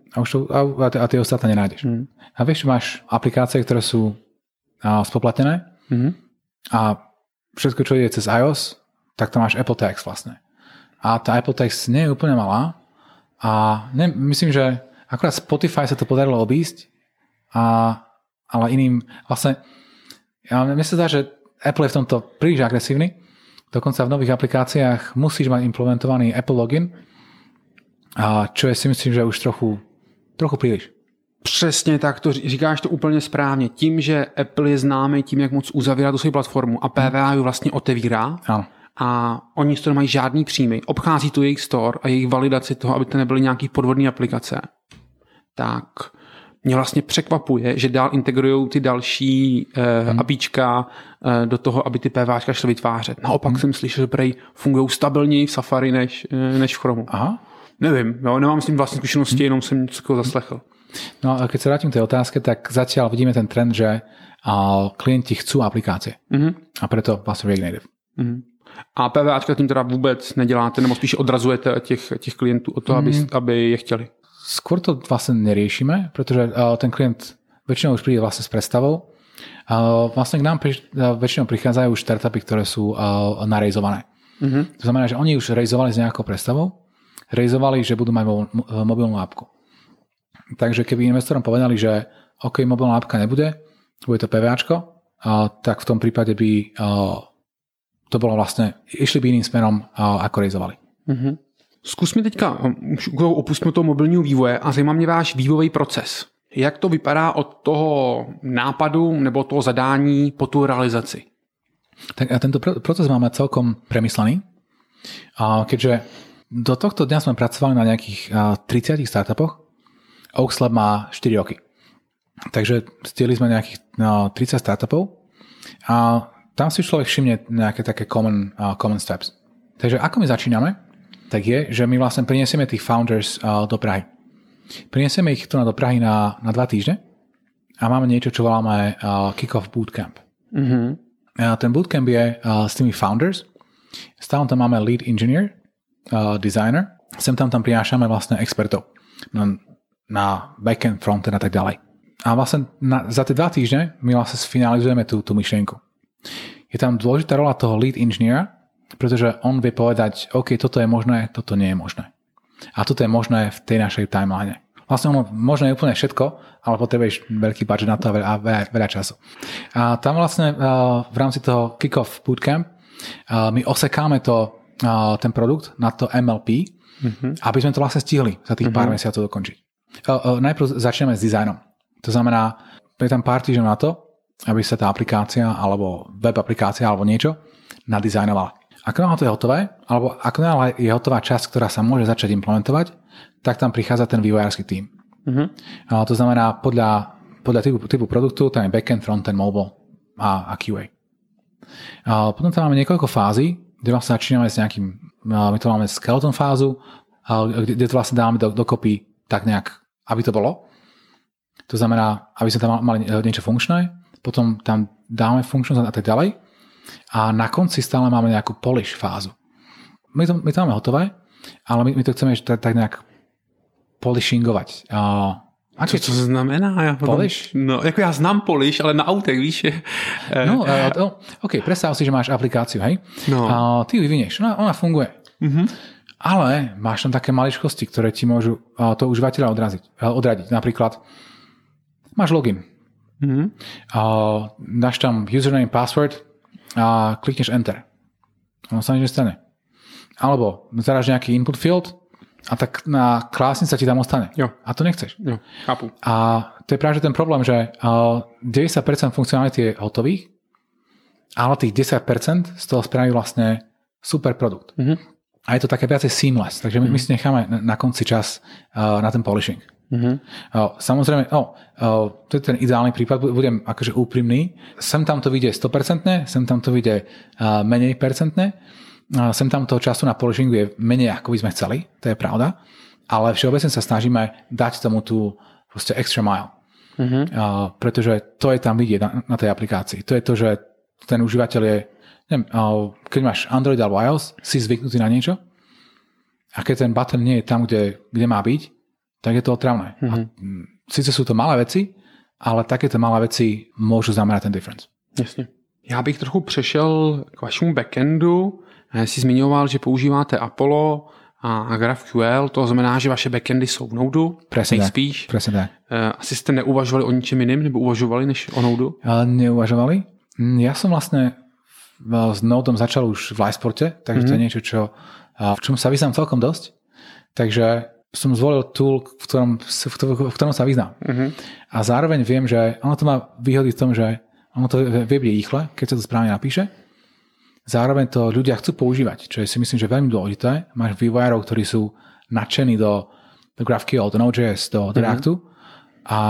a tie ostatné nenájdeš. A vieš, máš aplikácie, ktoré sú spoplatnené a všetko, čo ide cez iOS, tak tam máš Apple Tags vlastne. A tá Apple Tags nie je úplne malá, a myslím, že akorát Spotify sa to podarilo obísť, ale iným vlastne mne sa zdá, že Apple je v tomto príliš agresívny. Dokonca v nových aplikáciách musíš mať implementovaný Apple login, čo je si myslím, že už trochu príliš. Přesně tak, to říkáš to úplně správně. Tím, že Apple je známý tím, jak moc uzavírá tu svou platformu a PWA ju vlastně otevírá, ano. A oni z toho nemají žádný příjmy, obchází tu jejich store a jejich validaci toho, aby to nebyly nějaký podvodné aplikace, tak mě vlastně překvapuje, že dál integrují ty další APIčka do toho, aby ty PWAčka šly vytvářet. Naopak jsem slyšel, že prej fungují stabilněji v Safari než v Chromu. Aha. Nevím, nemám s tím vlastní zkušenosti, jenom jsem něco zaslechl. No a keď sa vrátim k tej otázke, tak zatiaľ vidíme ten trend, že klienti chcú aplikácie. A preto vlastne React Native. A PWAčka tím teda vůbec neděláte, nebo spíš odrazujete těch klientů od toho, aby je chtěli? Skôr to vlastne neriešime, pretože ten klient väčšinou už príde vlastne s predstavou. Vlastne k nám väčšinou prichádzajú už startupy, ktoré sú narejzované. To znamená, že oni už rejzovali s nejakou predstavou, rejzovali, že budú mať mobilnú appku. Takže keby investorom povedali, že OK, mobilná appka nebude, bude to PWAčko, tak v tom prípade by to bolo vlastne, išli by iným smerom, ako rejzovali. Zkus mi teďka, opustíme toho mobilního vývoje a zajímá mě váš vývojový proces. Jak to vypadá od toho nápadu nebo toho zadání po tu realizaci? Tak a tento proces máme celkom premyslený. Keďže do tohto dňa sme pracovali na nejakých 30 startupoch, Oaks Lab má 4 roky. Takže stieli sme nejakých 30 startupov a tam si človek všimne nejaké také common steps. Takže ako my začíname, tak je, že my vlastne prinesieme tých founders do Prahy. Prinesieme ich tu do Prahy na 2 týždne a máme niečo, čo voláme Kick-Off Bootcamp. Ten bootcamp je s tými founders. Stále tam máme lead engineer, designer. Sem tam prinášame vlastne expertov na backend, frontend a tak ďalej. A vlastne za tie 2 týždne my vlastne sfinalizujeme tú myšlienku. Je tam dôležitá rola toho lead engineera, pretože on vie povedať, OK, toto je možné, toto nie je možné. A toto je možné v tej našej timeline. Vlastne ono možné je úplne všetko, ale potrebuješ veľký budget na to a veľa času. A tam vlastne v rámci toho Kick-Off Bootcamp my osekáme ten produkt na to MLP, aby sme to vlastne stihli za tých pár mesiacov dokončiť. Najprv začneme s dizajnom. To znamená, je tam pár týždňov na to, aby sa tá aplikácia alebo web aplikácia alebo niečo nadizajnovala. Ako náhle to je hotové, alebo ako náhle je hotová časť, ktorá sa môže začať implementovať, tak tam prichádza ten vývojársky tím. To znamená, podľa typu produktu, tam je backend, frontend, mobile a QA. Potom tam máme niekoľko fází, kde vlastne začíname s nejakým, my to máme skeleton fázu, kde to vlastne dávame dokopy tak nejak, aby to bolo. To znamená, aby sme tam mali niečo funkčné, potom tam dáme funkčnosť a tak ďalej. A na konci stále máme nejakú polish fázu. My to máme hotové, ale my to chceme tak nejak polishingovať. Co znamená? Polish? No, jako já znám Polish, ale na autech, víš. No, OK, predstav si, že máš aplikáciu, hej? No. A ty ju vyvinieš, ona funguje. Ale máš tam také maličkosti, ktoré ti môžu toho užívateľa odradiť. Napríklad máš login. Dáš tam username, password a klikneš enter. Ono sa nič nestane. Alebo zadáš nejaký input field a tak na klásnica ti tam ostane. Jo. A to nechceš. Jo, chápu. A to je práve ten problém, že 90% funkcionality je hotových, ale tých 10% z toho spraví vlastne super produkt. A je to také viacej seamless, takže my si necháme na konci čas na ten polishing. Samozrejme, to je ten ideálny prípad, budem akože úprimný. Sem tam to vyjde 100%, sem tam to vyjde menej percentné, sem tam toho času na polishingu je menej, ako by sme chceli, to je pravda, ale všeobecne sa snažíme dať tomu tú proste extra mile. Pretože to je tam vidieť na tej aplikácii. To je to, že ten užívateľ je, neviem, keď máš Android alebo iOS, si zvyknutý na niečo a keď ten button nie je tam, kde má byť, tak je to otravné. Sice sú to malé veci, ale takéto malé veci môžu znamenat ten difference. Jasně. Já bych trochu přešel k vašemu backendu. Jsi zmiňoval, že používáte Apollo a GraphQL, to znamená, že vaše backendy jsou v Node, nejspíš. Presne tak. Asi jste neuvažovali o ničem jiným, nebo uvažovali než o Node? Neuvažovali. Ja som vlastne s Nodem začal už v Lysporte, takže to je niečo, v čom sa vyznám celkom dosť. Takže som zvolil tool, v ktorom sa vyznám. A zároveň viem, že ono to má výhody v tom, že ono to vie byť rýchle, keď sa to správne napíše. Zároveň to ľudia chcú používať, čo je si myslím, že veľmi dôležité. Máš vývojárov, ktorí sú nadšení do GraphQL, do Node.js, do Reactu a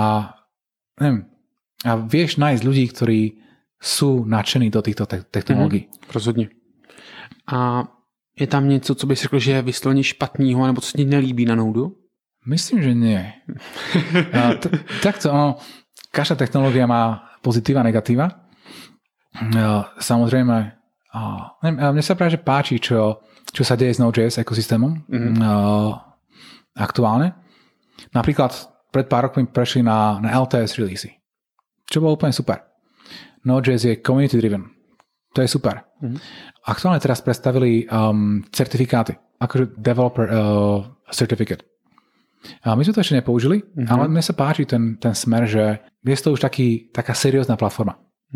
vieš nájsť ľudí, ktorí sú nadšení do týchto technológií. Rozhodně. A je tam něco, co bys řekl, že je vysloveně špatného, nebo co se ti nelíbí na Node? Myslím, že nie. Takto, každá technológia má pozitíva a negatíva. Samozrejme, mne sa práve páči, čo sa deje s Node.js ekosystémom aktuálne. Napríklad pred pár rokmi prešli na LTS releasy, čo bolo úplne super. Node.js je community driven. To je super. Aktuálne teraz predstavili certifikáty, akože developer certificate. My sme to ešte nepoužili, ale mne sa páči ten smer, že je to už taká seriózna platforma.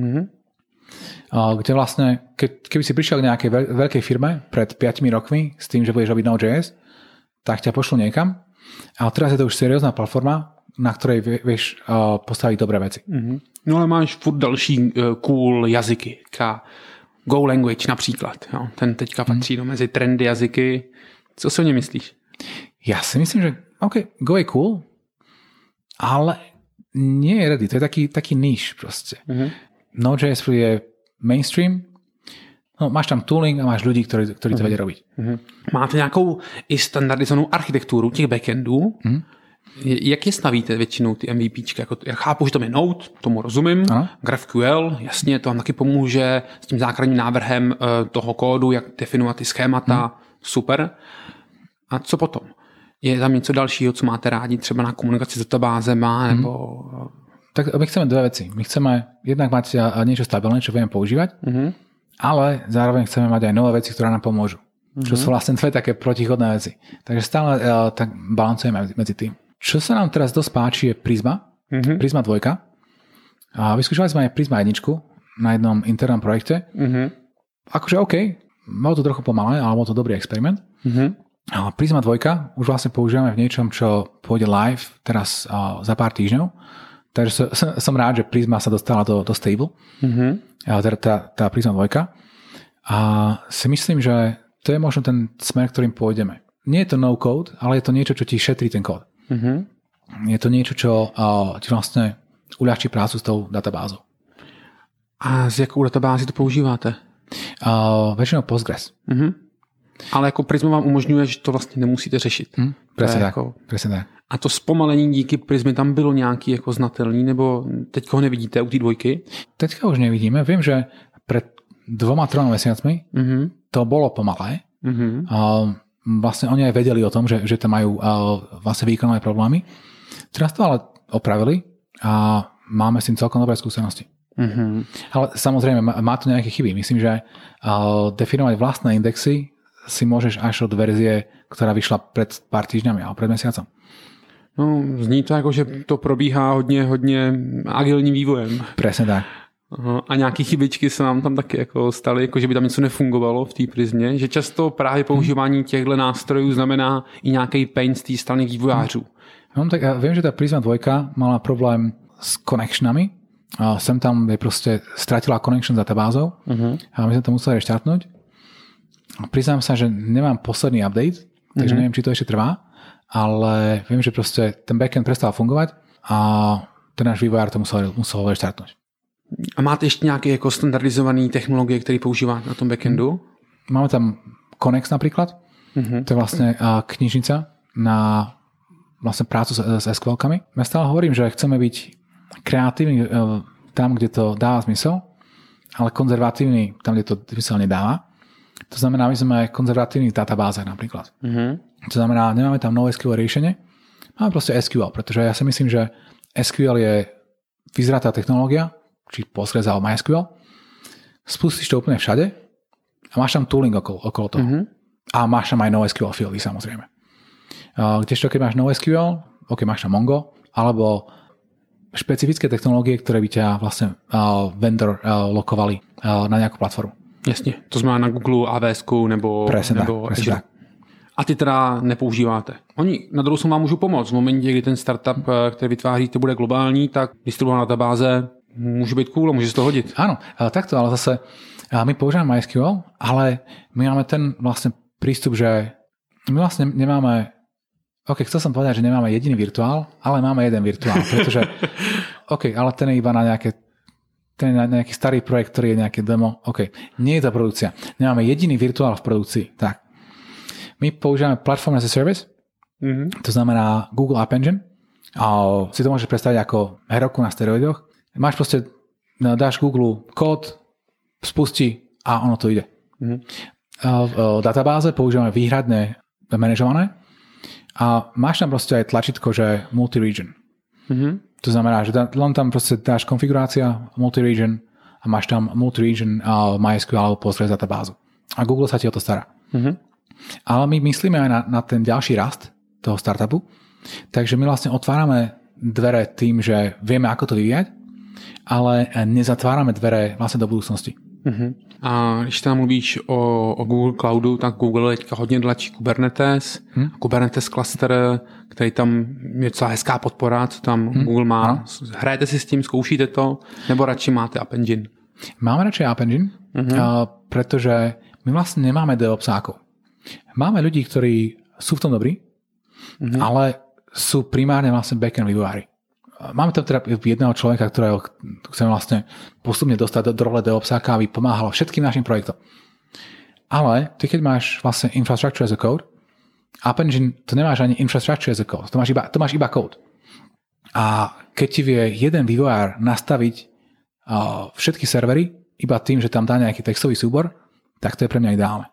Kde vlastne, keby si prišiel k nejakej veľkej firme pred 5 rokmi s tým, že budeš robiť Node.js, tak ťa pošlu niekam. Ale teraz je to už seriózna platforma, na ktorej vieš postaviť dobré veci. No ale máš furt další cool jazyky. Go language například. Jo. Ten teďka patří mezi trendy jazyky. Co si o ně myslíš? Ja si myslím, že Go je cool, ale nie je ready. To je taký níž proste. Node.js je mainstream. No, máš tam tooling a máš ľudí, ktorí to vedia robiť. Máte nějakou i standardizovanou architekturu těch backendů? Jak je stavíte většinou ty MVPčky? Jako, já chápu, že to je Node, tomu rozumím. GraphQL, jasně, to vám taky pomůže s tím základním návrhem toho kódu, jak definovat ty schémata. Super. A co potom? Je tam něco dalšího, co máte rádi třeba na komunikaci s databázema? Nebo... Tak my chceme dve veci. My chceme jednak mať niečo stabilné, čo vieme používať, ale zároveň chceme mať aj nové veci, ktoré nám pomôžu. Čo sú vlastne dve také protichodné veci. Takže stále tak balancujeme medzi tým. Čo sa nám teraz dosť páči je Prisma. Prisma 2. A vyskúšali sme aj Prisma 1 na jednom internom projekte. Akože bolo to trochu pomalé, ale bol to dobrý experiment. Ale Prisma 2 už vlastne používame v niečom, čo pôjde live teraz za pár týždňov. Takže som rád, že Prisma sa dostala do stable. Tá Prisma 2. A si myslím, že to je možno ten smer, ktorým pôjdeme. Nie je to no code, ale je to niečo, čo ti šetrí ten kód. Je to niečo, čo ti vlastne uľahčí prácu s tou databázou. A s jakou databází to používáte? Väčšinou Postgres. Ale jako Prisma vám umožňuje, že to vlastně nemusíte řešit. Presne tak. Jako... tak. A to zpomalení díky Prismy tam bylo nějaký jako znatelný, nebo teďka ho nevidíte u té 2? Teďka už nevidíme. Viem, že pred 2-3 mesiacmi to bolo pomalé. Vlastne oni aj vedeli o tom, že tam majú vlastne výkonové problémy. Teraz to ale opravili a máme s tým celkom dobré skúsenosti. Ale samozrejme, má to nejaké chyby. Myslím, že definovať vlastné indexy si môžeš až od verzie, ktorá vyšla pred pár týždňami alebo pred mesiacom. No, zní to jako, že to probíhá hodně agilním vývojem. Presne tak. A nějaký chybičky se nám tam taky jako staly, jako že by tam něco nefungovalo v té Prismě, že často právě používání těchto nástrojů znamená i nějaký pain z té strany vývojářů. No, tak ja viem, že tá Prisma 2 mala problém s connectionami. Sem tam je proste stratila connection s databázou a my sme to museli reštartnúť. Priznám sa, že nemám posledný update, takže neviem, či to ešte trvá, ale viem, že proste ten backend prestal fungovať a ten náš vývojár to musel reštartnúť. A máte ještě nějaké jako standardizované technologie, které používáte na tom backendu? Máme tam Connex napríklad. To je vlastne knižnica na vlastne prácu s SQL-kami. Ja stále hovorím, že chceme byť kreatívni tam, kde to dáva zmysel, ale konzervatívni tam, kde to zmysel nedáva. To znamená, my sme konzervatívni v databázach napríklad. To znamená, nemáme tam NoSQL riešenie, máme proste SQL, pretože ja si myslím, že SQL je vyzratá technológia, či Postgres alebo MySQL. Spustíš to úplne všade a máš tam tooling okolo toho. A máš tam aj NoSQL fieldy, samozrejme. Kdežto, keď máš NoSQL, máš tam Mongo, alebo špecifické technológie, ktoré by ťa vlastne vendor lokovali na nejakú platformu. Jasně, to znamená na Google, AWS nebo Azure. A ty teda nepoužíváte. Oni na druhou stranu vám můžou pomoct. V momentě, kdy ten startup, který vytváříte, bude globální, tak distribuovaná databáze může být cool a může se to hodit. Áno, takto, ale zase my používame MySQL, ale my máme ten vlastne prístup, že my vlastne nemáme, chcel som povedať, že nemáme jediný virtuál, ale máme jeden virtuál, pretože ale ten je iba na nejaký starý projekt, ktorý je nejaké demo. Nie je to produkcia. Nemáme jediný virtuál v produkcii. Tak. My používame Platform as a Service, to znamená Google App Engine. A si to môžeš predstaviť ako Heroku na steroidoch. Máš proste, dáš Google kód, spustí a ono to ide. V databáze používame výhradne manažované a máš tam proste aj tlačítko, že multi-region. To znamená, že len tam proste dáš konfigurácia multi-region a máš tam multi-region MySQL alebo Postgres databázu. A Google sa ti o to stará. Ale my myslíme aj na ten ďalší rast toho startupu, takže my vlastne otvárame dvere tým, že vieme, ako to vyvíjať, ale nezatvárame dvere vlastne do budúcnosti. A když tam mluvíš o Google Cloudu, tak Google teďka hodně tlačí Kubernetes, Kubernetes cluster, který tam je celá hezká podpora, co tam Google má. Hrajete si s tím, zkoušíte to, nebo radši máte App Engine? Máme radšej App Engine, pretože my vlastne nemáme DevOpsákov. Máme ľudí, ktorí sú v tom dobrí, ale sú primárne vlastne backend vývojári. Máme tam teda jedného človeka, ktorého chceme vlastne postupne dostať do role DevOpsáka, aby pomáhalo všetkým našim projektom. Ale ty, keď máš vlastne infrastructure as a code, App Engine, to nemáš ani infrastructure as a code, to máš iba code. A keď ti vie jeden vývojár nastaviť všetky servery iba tým, že tam dá nejaký textový súbor, tak to je pre mňa ideálne.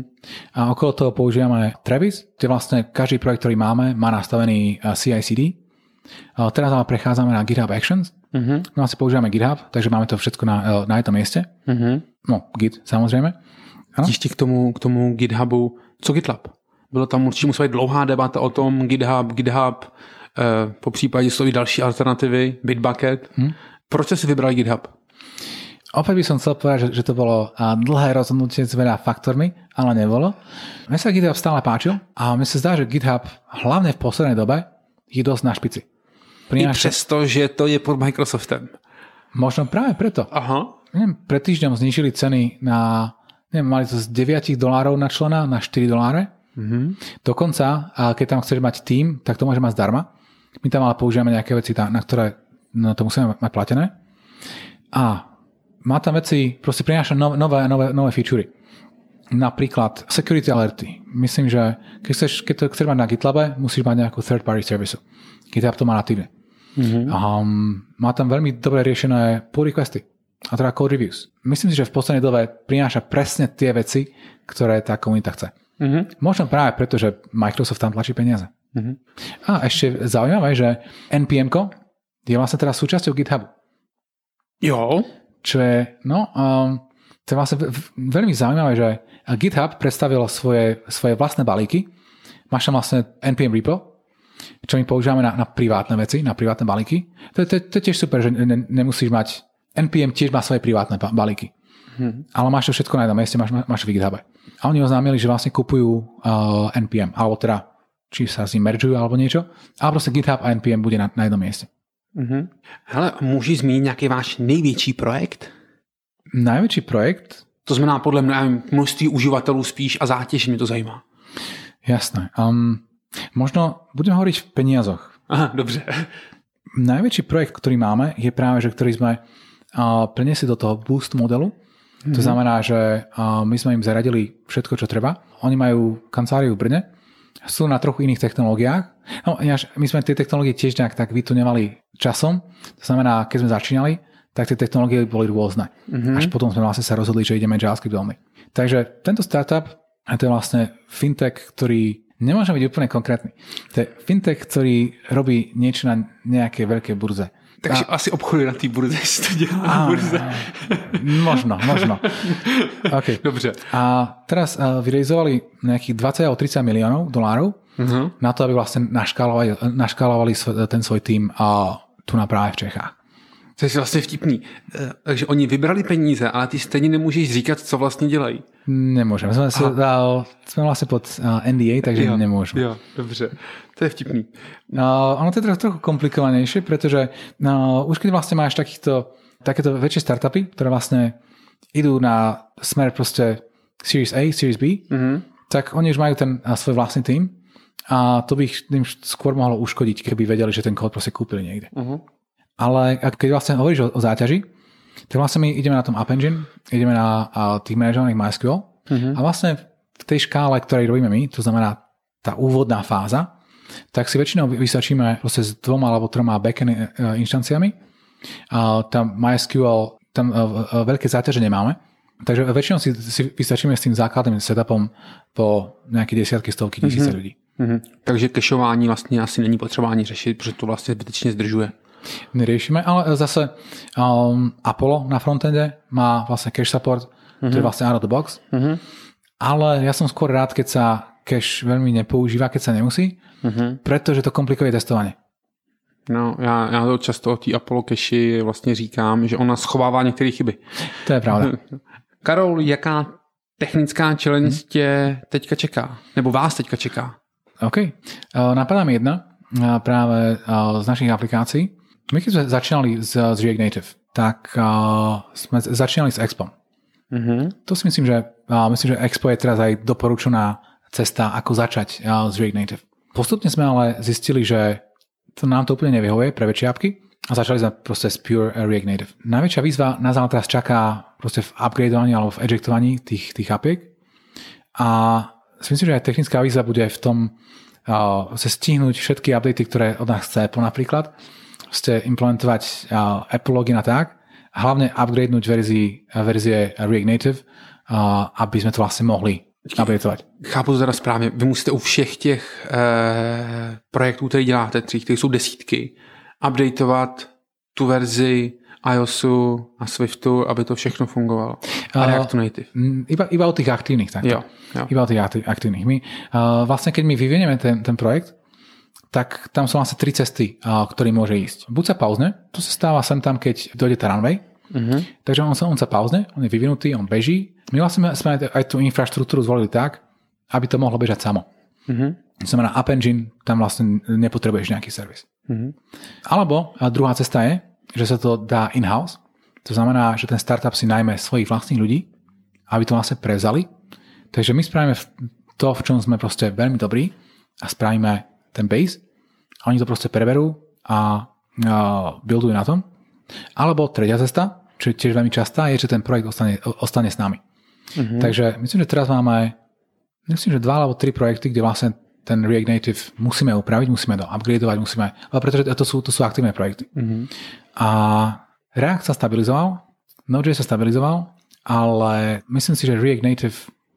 A okolo toho používame Travis, kde vlastne každý projekt, ktorý máme, má nastavený CI/CD. Teraz ale prechádzame na GitHub Actions. No asi používame GitHub, takže máme to všetko na jednom mieste. No, Git, samozrejme. Ještě k tomu GitHubu. Co GitLab? Bylo tam určitě musela být dlouhá debata o tom GitHub, po případě jsou i další alternativy, Bitbucket. Proč jsi vybral GitHub? Opäť by som chcel povedať, že to bolo dlhé rozhodnutie s veľa faktormi, ale nebolo. Mne sa GitHub stále páčil a mne sa zdá, že GitHub hlavne v poslednej dobe je dosť na špici. I přesto, že to je pod Microsoftem. Možno práve preto. Aha. Pred týždňom znížili ceny na, mali to z $9 na člena na $4. Dokonca, keď tam chceš mať tím, tak to môže mať zdarma. My tam ale používame nejaké veci, na ktoré to musíme mať platené. A má tam veci, proste prináša nové featurey. Napríklad security alerty. Myslím, že keď to chceš mať na GitLabe, musíš mať nejakú third party service. GitHub to má natívne. Má tam veľmi dobre riešené pull requesty a teda code reviews. Myslím si, že v poslednej dobe prináša presne tie veci, ktoré tá komunita chce. Možno práve preto, že Microsoft tam tlačí peniaze. A ešte zaujímavé, že NPM-ko je vlastne teraz súčasťou GitHubu. Jo. Čo je, to je vlastne veľmi zaujímavé, že GitHub predstavil svoje vlastné balíky. Máš tam vlastne NPM repo, čo my používame na privátne veci, na privátne balíky. To je tiež super, že nemusíš mať... NPM tiež má svoje privátne balíky. Ale máš to všetko na jednom mieste, máš v GitHube. A oni oznámili, že vlastne kupujú NPM, alebo teda či sa s ním meržujú alebo niečo, ale proste GitHub a NPM bude na jednom mieste. Hele, můžeš zmínit nějaký váš největší projekt? Najväčší projekt? To znamená podle mě množství uživatelů spíš a zátěž, mě to zajímá. Jasné. Možno budem hovoriť v peniazoch. Aha, dobře. Najväčší projekt, ktorý máme, je práve, že ktorý sme preniesli do toho Boost modelu. To znamená, že my sme im zaradili všetko, čo treba. Oni majú kanceláriu v Brne, sú na trochu iných technológiách. No, my sme tie technológie tiež nejak tak vytuňovali časom. To znamená, keď sme začínali, tak tie technológie boli rôzne. Až potom sme vlastne sa rozhodli, že ideme JavaScript veľmi. Takže tento startup, to je vlastne fintech, ktorý nemôže byť úplne konkrétny. To je fintech, ktorý robí niečo na nejakej veľkej burze. Takže asi obchoduje na té burze, jestli to dělá na burze. Možno. Okay. Dobře. A teraz vyrealizovali nejakých 20 alebo 30 miliónov dolárov na to, aby vlastne naškálovali ten svoj tým tu na práve v Čechách. To je vlastně vtipný. Takže oni vybrali peníze, ale ty stejně nemůžeš říkat, co vlastně dělají. Nemôžem. Sme vlastne pod NDA, takže nemôžem. Jo, dobře. To je vtipný. Ono to je trochu komplikovanejšie, pretože už keď vlastne máš takéto väčšie startupy, ktoré vlastne idú na smer proste Series A, Series B, tak oni už majú ten svoj vlastný tým a to by ich skôr mohlo uškodiť, keby vedeli, že ten kód proste kúpili niekde. Ale keď vlastne hovoríš o záťaži, tak vlastne my ideme na tom App Engine, ideme na tých manažovaných MySQL a vlastne v tej škále, ktorej robíme my, to znamená tá úvodná fáza, tak si väčšinou vystačíme proste s 2 alebo 3 backend inštanciami. Tam MySQL, tam veľké záťaže nemáme, takže väčšinou si vystačíme s tým základným setupom po nejaké desiatky, stovky, tisíce ľudí. Takže cacheování vlastně asi není potřeba ani řešit, protože to vlastně zbytečně zdržuje. Neriešime, ale zase Apollo na frontende má vlastne cache support, to je vlastne out of the box, ale ja som skôr rád, keď sa cache veľmi nepoužíva, keď sa nemusí, pretože to komplikuje testovanie. No, já to často o té Apollo cache vlastně říkám, že ona schovává některé chyby. To je pravda. Karol, jaká technická challenge tě teďka čeká? Nebo vás teďka čeká? OK. Napadá mi jedna práve z našich aplikácií. My keď sme začínali z React Native, tak sme začínali s Expom. To si myslím, že Expo je teraz aj doporučená cesta, ako začať z React Native. Postupne sme ale zistili, že nám to úplne nevyhovuje pre väčšie apky a začali sme proste z pure React Native. Najväčšia výzva nás ale teraz čaká proste v upgradeovaní alebo v ejectovaní tých apiek a si myslím, že aj technická výzva bude v tom stihnúť všetky updaty, ktoré od nás chce Apple napríklad, implementovať Apple login a tak, a hlavne upgradenúť verzie React Native, aby sme to vlastne mohli updateovat. Chápu to teda správně. Vy musíte u všech těch projektů, které děláte, které jsou desítky, updateovat tu verzi iOSu a Swiftu, aby to všechno fungovalo. A Reactu Native. Iba o tých aktívnych. Tak. Jo. Iba o tých aktívnych. My, vlastne, keď my vyvinieme ten projekt, tak tam sú vlastne 3 cesty, ktorý môže ísť. Buď sa pauzne, to sa stáva sem tam, keď dojde tá runway, takže on sa pauzne, on je vyvinutý, on beží. My vlastne sme aj tú infraštruktúru zvolili tak, aby to mohlo bežať samo. To znamená App Engine, tam vlastne nepotrebuješ nejaký servis. Alebo druhá cesta je, že sa to dá in-house. To znamená, že ten startup si najmä svojich vlastných ľudí, aby to vlastne prevzali. Takže my spravíme to, v čom sme proste veľmi dobrí a spravíme ten base a oni to proste preberú a buildujú na tom. Alebo tretia cesta, čo je tiež veľmi častá, je, že ten projekt ostane s nami. Takže myslím, že teraz máme 2 alebo 3 projekty, kde vlastne ten React Native musíme upraviť, musíme to upgradeovať, pretože to sú aktívne projekty. A React sa stabilizoval, Node.js sa stabilizoval, ale myslím si, že React Native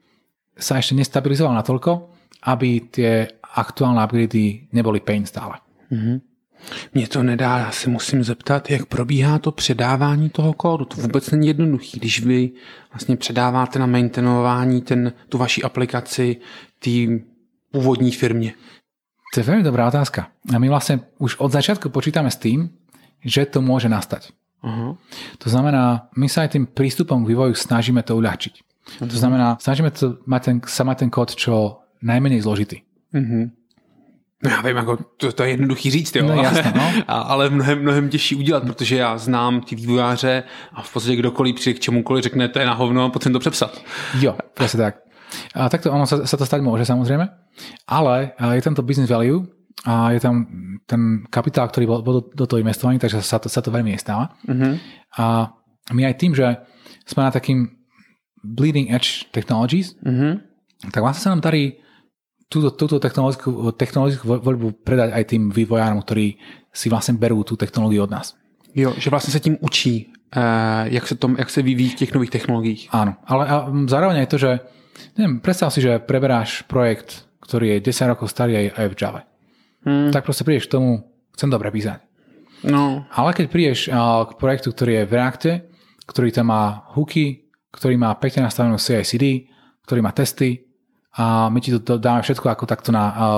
sa ešte nestabilizoval natoľko, aby tie aktuálne upgrady neboli pain stále. Mně to nedá, já se musím zeptat, jak probíhá to předávání toho kódu. To vůbec není jednoduchý, když vy vlastně předáváte na maintainování tu vaši aplikaci té původní firmě. To je veľmi dobrá otázka. A my vlastne už od začiatku počítame s tým, že to môže nastať. Aha. To znamená, my sa aj tým prístupom k vývoju snažíme to uľahčiť. To znamená, snažíme to mať ten kód čo najmenej zložitý. No já vím, jako to je jednoduchý říct, jo, no, jasné, no. Ale mnohem těžší udělat, protože já znám ty vývojáře a v podstatě kdokoliv přijde k čemukoliv řekne, to je na hovno, potřebuji to přepsat. Jo, presne tak. A takto ono sa to stať môže samozrejme, ale je tam to business value a je tam ten kapitál, ktorý bol do toho investovaný, takže sa to veľmi nestáva. A my aj tým, že sme na takým bleeding edge technologies, tak vlastne sa nám darí túto technologickú voľbu predať aj tým vývojárom, ktorí si vlastne berú tú technológiu od nás. Jo, že vlastně se tím učí, jak se vyvíjí v těch nových technologiích. Áno, ale zároveň aj to, že neviem, predstav si, že preberáš projekt, ktorý je 10 rokov starý aj v Java. Tak proste prídeš k tomu, chcem to prepísať. No. Ale keď prídeš k projektu, ktorý je v Reacte, ktorý tam má hooky, ktorý má pekne nastavenú CI/CD, ktorý má testy, a my ti to dáme všetko ako takto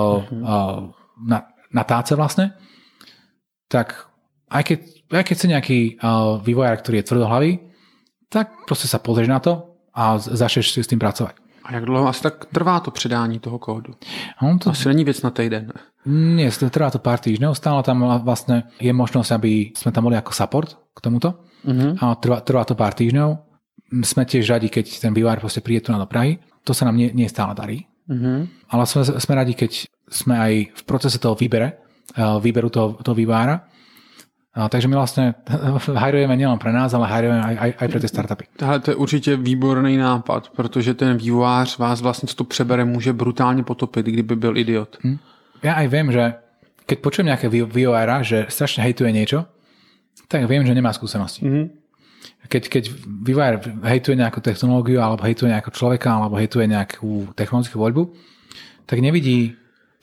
na táce vlastne, tak aj keď si nejaký vývojár, ktorý je tvrdohlavý, tak proste sa pozrieš na to a začneš si s tým pracovať. A jak dlouho asi tak trvá to předání toho kódu? To asi není věc na týden. Nie, trvá to pár týždňov, stále tam vlastne je možnosť, aby sme tam boli ako support k tomuto. A trvá to pár týždňov. Sme tiež radi, keď ten vývojár proste príde tu do Prahy. To sa nám nie stále darí. Ale sme radi, keď sme aj v procese toho výberu toho vývojára. Takže my vlastne hajrujeme nielen pre nás, ale hajrujeme aj pre tie startupy. To je určitě výborný nápad, protože ten vývojář vás vlastně, co to přebere, může brutálně potopit, kdyby byl idiot. Ja aj viem, že keď počujem nejaké vývojára, že strašne hejtuje niečo, tak viem, že nemá skúsenosti. Keď vývojár hejtuje nejakú technológiu, alebo hejtuje nejakého človeka, alebo hejtuje nejakú technologickú voľbu, tak nevidí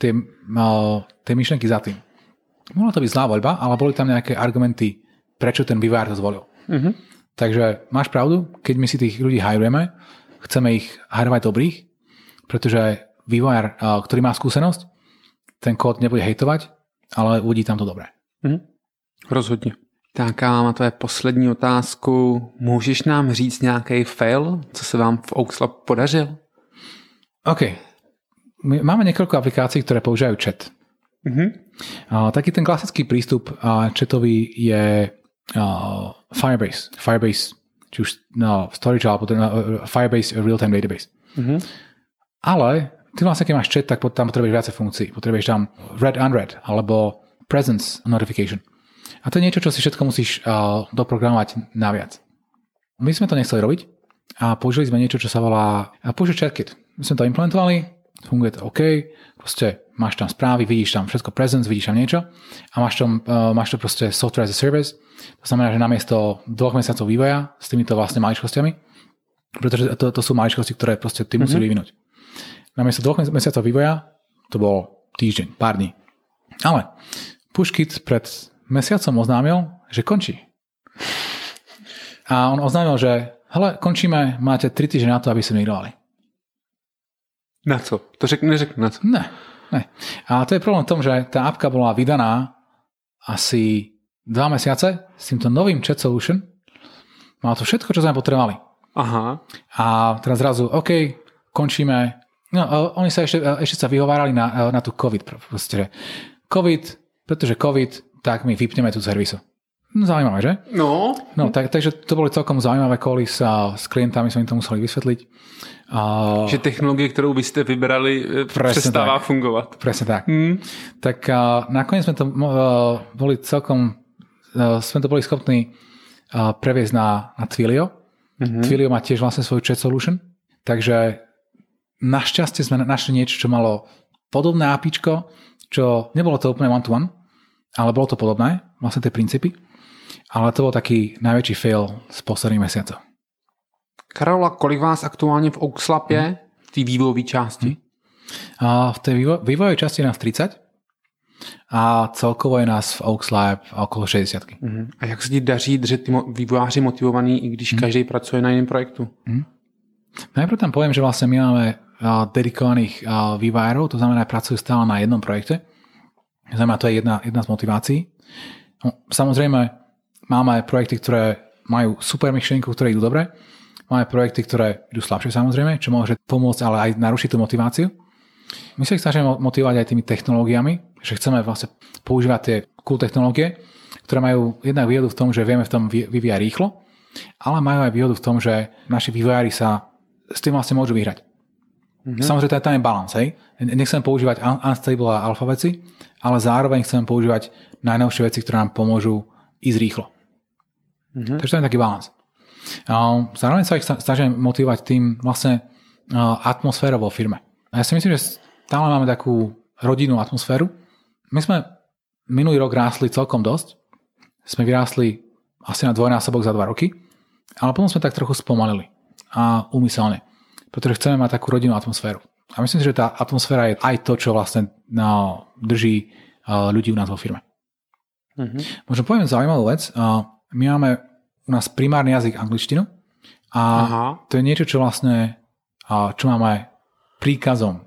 tie myšlenky za tým. Mohla to byť zlá voľba, ale boli tam nejaké argumenty, prečo ten vývojár to zvolil. Takže máš pravdu, keď my si tých ľudí hajrujeme, chceme ich hajrovať dobrých, pretože vývojár, ktorý má skúsenosť, ten kód nebude hejtovať, ale uvidí tam to dobré. Rozhodně. Tak a na tvoje poslední otázku. Můžeš nám říct nějaký fail, co se vám v Oakslab podařil? OK. My máme niekoľko aplikácií, ktoré používajú chat. Taký ten klasický prístup chatový je Firebase. Firebase, či už storage, alebo Firebase real-time database. Ale ty vlastne, keď máš chat, tak tam potrebuješ viacej funkcií. Potrebuješ tam read-unread, alebo presence notification. A to je niečo, čo si všetko musíš doprogramovať naviac. My sme to nechceli robiť a použili sme niečo, čo sa volá Push ChatKit. My sme to implementovali, funguje to OK, proste máš tam správy, vidíš tam všetko presence, vidíš tam niečo a máš to proste software as a service. To znamená, že namiesto 2 mesiacov vývoja s týmito vlastne maličkosťami, pretože to sú maličkosti, ktoré proste ty musíš vyvinúť. Namiesto 2 mesiacov vývoja to bol týždeň, pár dní. Ale PushKit pred mesiacom oznámil, že končí. A on oznámil, že hele, končíme, máte 3 týždne na to, aby ste migrovali. Na co? To neřekne na co? Ne. A to je problém v tom, že tá apka bola vydaná asi 2 mesiace s týmto novým chat solution. Malo to všetko, čo sme potrebovali. Aha. A teraz zrazu, OK, končíme. No, oni sa ešte sa vyhovárali na tú COVID. Proste, COVID, pretože COVID, tak my vypneme tú servisu. Zaujímavé, že? No. Takže to boli celkom zaujímavé koly s klientami, sme im to museli vysvetliť. Že technologie, ktorú vy ste vyberali, přestává fungovat. Presne tak. Tak nakoniec sme to boli celkom, sme to boli schopní previesť na Twilio. Twilio má tiež vlastne svoju chat solution, takže našťastie sme našli niečo, čo malo podobné APIčko, čo nebolo to úplne one-to-one, ale bolo to podobné, vlastne tie princípy. Ale to bol taký najväčší fail z posledných mesiacov. Karola, kolik vás aktuálne v Oakslab je v té vývojové části? V tej vývojovej časti je nás 30 a celkovo je nás v Oaks Lab okolo 60. A jak se ti daří držet ty vývojáři motivovaný, i když každý pracuje na jiném projektu? Najprv tam poviem, že vlastne my máme dedikovaných vývojárov, to znamená, pracujú stále na jednom projekte. Znamená, to je jedna z motivácií. No, samozrejme, máme projekty, ktoré majú super myšlienku, ktoré idú dobre. Máme projekty, ktoré idú slabšie, samozrejme, čo môže pomôcť, ale aj narušiť tú motiváciu. My sa ich snažíme motivovať aj tými technológiami, že chceme vlastne používať tie cool technológie, ktoré majú jednak výhodu v tom, že vieme v tom vyvíjať rýchlo, ale majú aj výhodu v tom, že naši vývojári sa s tým vlastne môžu vyhrať. Samozrejme, tam je balans, hej. Nechcem používať unstable a alfa veci, ale zároveň chcem používať najnovšie veci, ktoré nám pomôžu ísť rýchlo. Takže to je taký balans. Zároveň sa ich snažím motivovať tým vlastne atmosférou vo firme. A ja si myslím, že stále máme takú rodinnú atmosféru. My sme minulý rok rástli celkom dosť. Sme vyrástli asi na dvojnásobok za 2 roky, ale potom sme tak trochu spomalili. A úmyselne. Pretože chceme mať takú rodinnú atmosféru. A myslím si, že tá atmosféra je aj to, čo vlastne drží ľudí u nás vo firme. Možno poviem zaujímavú vec. My máme u nás primárny jazyk angličtinu a to je niečo, čo vlastne čo máme príkazom.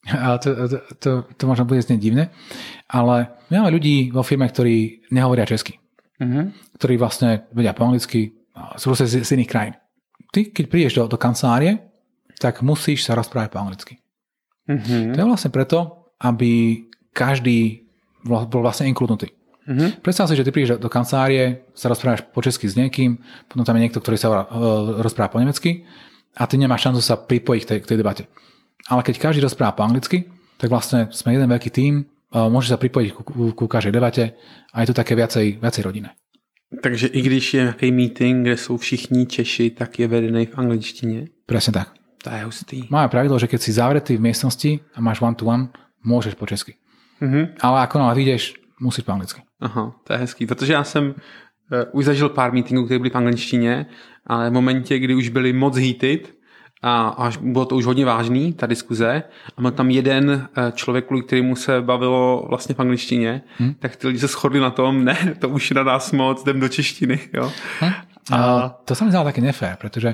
To možno bude znieť divne, ale my máme ľudí vo firme, ktorí nehovoria česky. Ktorí vlastne vedia po anglicky, sú z iných krajín. Ty, keď prídeš do kancelárie, tak musíš sa rozprávať po anglicky. To je vlastne preto, aby každý bol vlastne inkludnutý. Predstav si, že ty prídeš do kancelárie, sa rozprávaš po česky s niekým, potom tam je niekto, ktorý sa rozpráva po nemecky a ty nemáš šancu sa pripojiť k tej debate. Ale keď každý rozpráva po anglicky, tak vlastne sme jeden veľký tím, môžeš sa pripojiť ku každej debate a je to také viacej rodinné. Takže i když je nějaký meeting, kde jsou všichni Češi, tak je vedený v angličtině? Presne tak. To je hustý. Máme pravidlo, že keď si zavretý v miestnosti a máš one-to-one, môžeš po česky. Ale ako náhle vyjdeš, musíš po anglicky. Aha, to je hezký, protože já jsem už zažil pár meetingů, které byly v angličtině, ale v momentě, kdy už byly moc heated a až bylo to už hodně vážný, ta diskuze, a byl tam jeden člověk, kvůli kterému se bavilo vlastně v angličtině, tak ty lidi se shodli na tom, ne, to už na nás moc, jdem do češtiny. Jo? To sa mi zdalo také nefér, pretože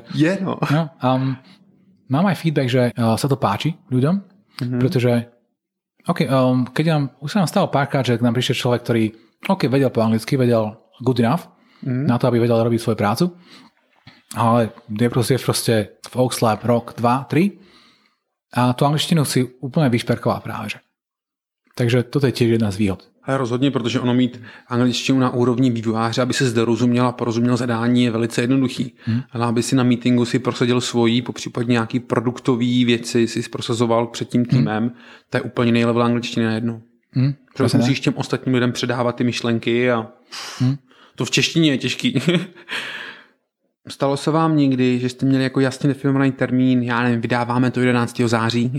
mám aj feedback, že sa to páči ľuďom, pretože keď už sa nám stalo párkrát, že k nám prišiel človek, ktorý vedel po anglicky, vedel good enough na to, aby vedel robiť svoju prácu, ale je proste v Oaks Lab rok, 2, 3 a tú angličtinu si úplne vyšperkoval práve. Že. Takže toto je tiež jedna z výhod. Ale rozhodně, protože ono mít angličtinu na úrovni vývojáře, aby se zde rozuměl a porozuměl zadání, je velice jednoduchý. Ale aby si na meetingu si prosadil svojí, popřípadně nějaký produktový věci si prosazoval před tím týmem, to je úplně jiný level angličtiny najednou. Protože musíš těm ostatním lidem předávat ty myšlenky a to v češtině je těžký. Stalo se vám někdy, že jste měli jako jasně definovaný termín, já nevím, vydáváme to 11. září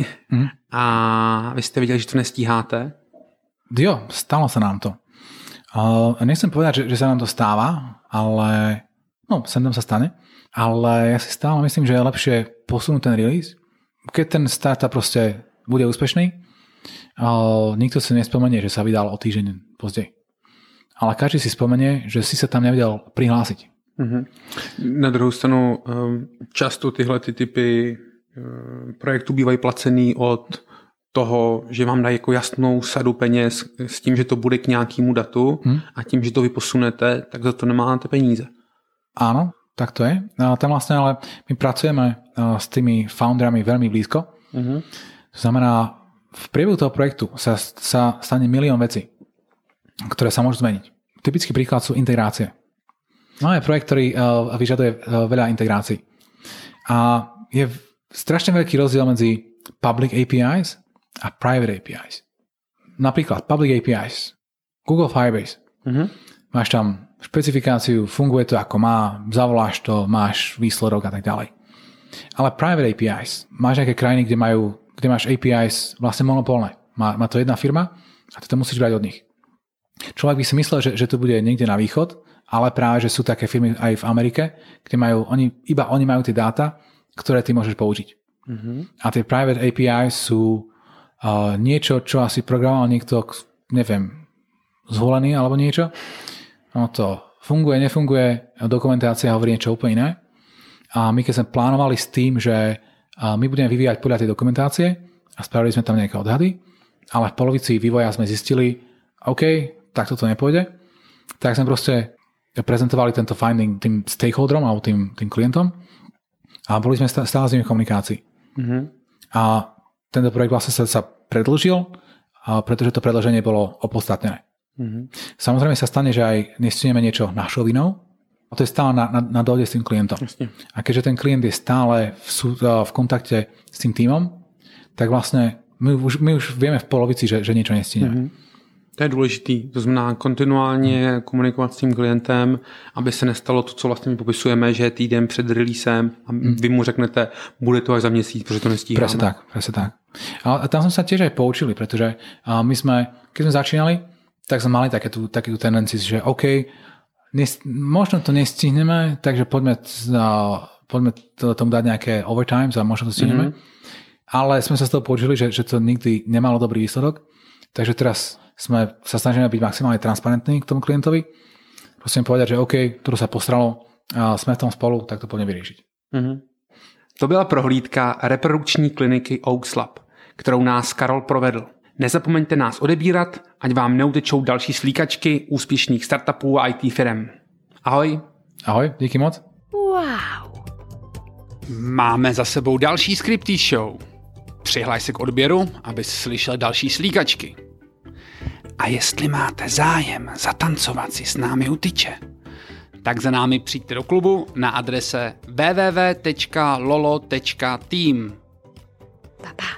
a vy jste viděli, že to nestíháte? Jo, stalo sa nám to. Nechcem povedať, že sa nám to stáva, ale sem tam sa stane, ale ja si stále myslím, že je lepšie posunúť ten release. Keď ten startup proste bude úspešný, nikto si nespomenie, že sa vydal o týždeň pozdej. Ale každý si spomenie, že si sa tam nevedel prihlásiť. Na druhou stranu často tyhle typy projektů bývají placený od toho, že vám dají jako jasnou sadu peněz s tím, že to bude k nějakému datu a tím, že to vy posunete, tak za to nemáte peníze. Áno, tak to je. Tam vlastne ale my pracujeme s tými founderami veľmi blízko. To znamená, v priebehu toho projektu sa stane milión vecí, ktoré sa môžu zmeniť. Typický príklad sú integrácie. Máme projekt, ktorý vyžaduje veľa integrácií. A je strašne veľký rozdiel medzi public APIs a private APIs. Napríklad public APIs, Google Firebase. Máš tam špecifikáciu, funguje to ako má, zavoláš to, máš výsledok a tak ďalej. Ale private APIs, máš nejaké krajiny, kde máš APIs vlastne monopolné. Má to jedna firma a ty to musíš brať od nich. Človek by si myslel, že to bude niekde na východ, ale práve, že sú také firmy aj v Amerike, kde oni majú tie dáta, ktoré ty môžeš použiť. A tie private APIs sú niečo, čo asi programoval niekto neviem, zvolený alebo niečo. No to funguje, nefunguje, dokumentácia hovorí niečo úplne iné. A my keď sme plánovali s tým, že my budeme vyvíjať podľa tej dokumentácie a spravili sme tam nejaké odhady, ale v polovici vývoja sme zistili, OK, tak toto nepôjde, tak sme proste prezentovali tento finding tým stakeholderom alebo tým klientom a boli sme stále s nimi v komunikácii. Mm-hmm. A tento projekt vlastne sa predĺžil, pretože to predĺženie bolo opodstatnené. Mm-hmm. Samozrejme sa stane, že aj nestihneme niečo našou vinou, a to je stále na dohode s tým klientom. Jasne. A keďže ten klient je stále v kontakte s tým tímom, tak vlastne my už vieme v polovici, že niečo nestihneme. Mm-hmm. To je důležitý. To znamená kontinuálně komunikovat s tím klientem, aby se nestalo to, co vlastně my popisujeme, že je týden před releasem a vy mu řeknete, bude to až za měsíc, protože to nestíháme. Presne tak. A tam sme sa tiež aj poučili, pretože my sme, keď sme začínali, tak sme mali takú tendenciu, že OK, možno to nestihneme, takže poďme tomu dať nejaké overtimes a možno to stihneme. Ale sme sa z toho poučili, že to nikdy nemalo dobrý výsledok. Takže teraz sa snažíme byť maximálne transparentní k tomu klientovi. Prosím povedať, že OK, toto sa postralo, sme v tom spolu, tak to poďme vyriešiť. To byla prohlídka reprodukční kliniky Oaks Lab, kterou nás Karol provedl. Nezapomeňte nás odebírat, ať vám neutečou další slíkačky úspěšných startupů a IT firem. Ahoj. Ahoj, díky moc. Wow. Máme za sebou další Scripty Show. Přihlaš se k odběru, abys slyšel další slíkačky. A jestli máte zájem zatancovat si s námi u tyče, tak za námi přijďte do klubu na adrese www.lolo.team. Pa.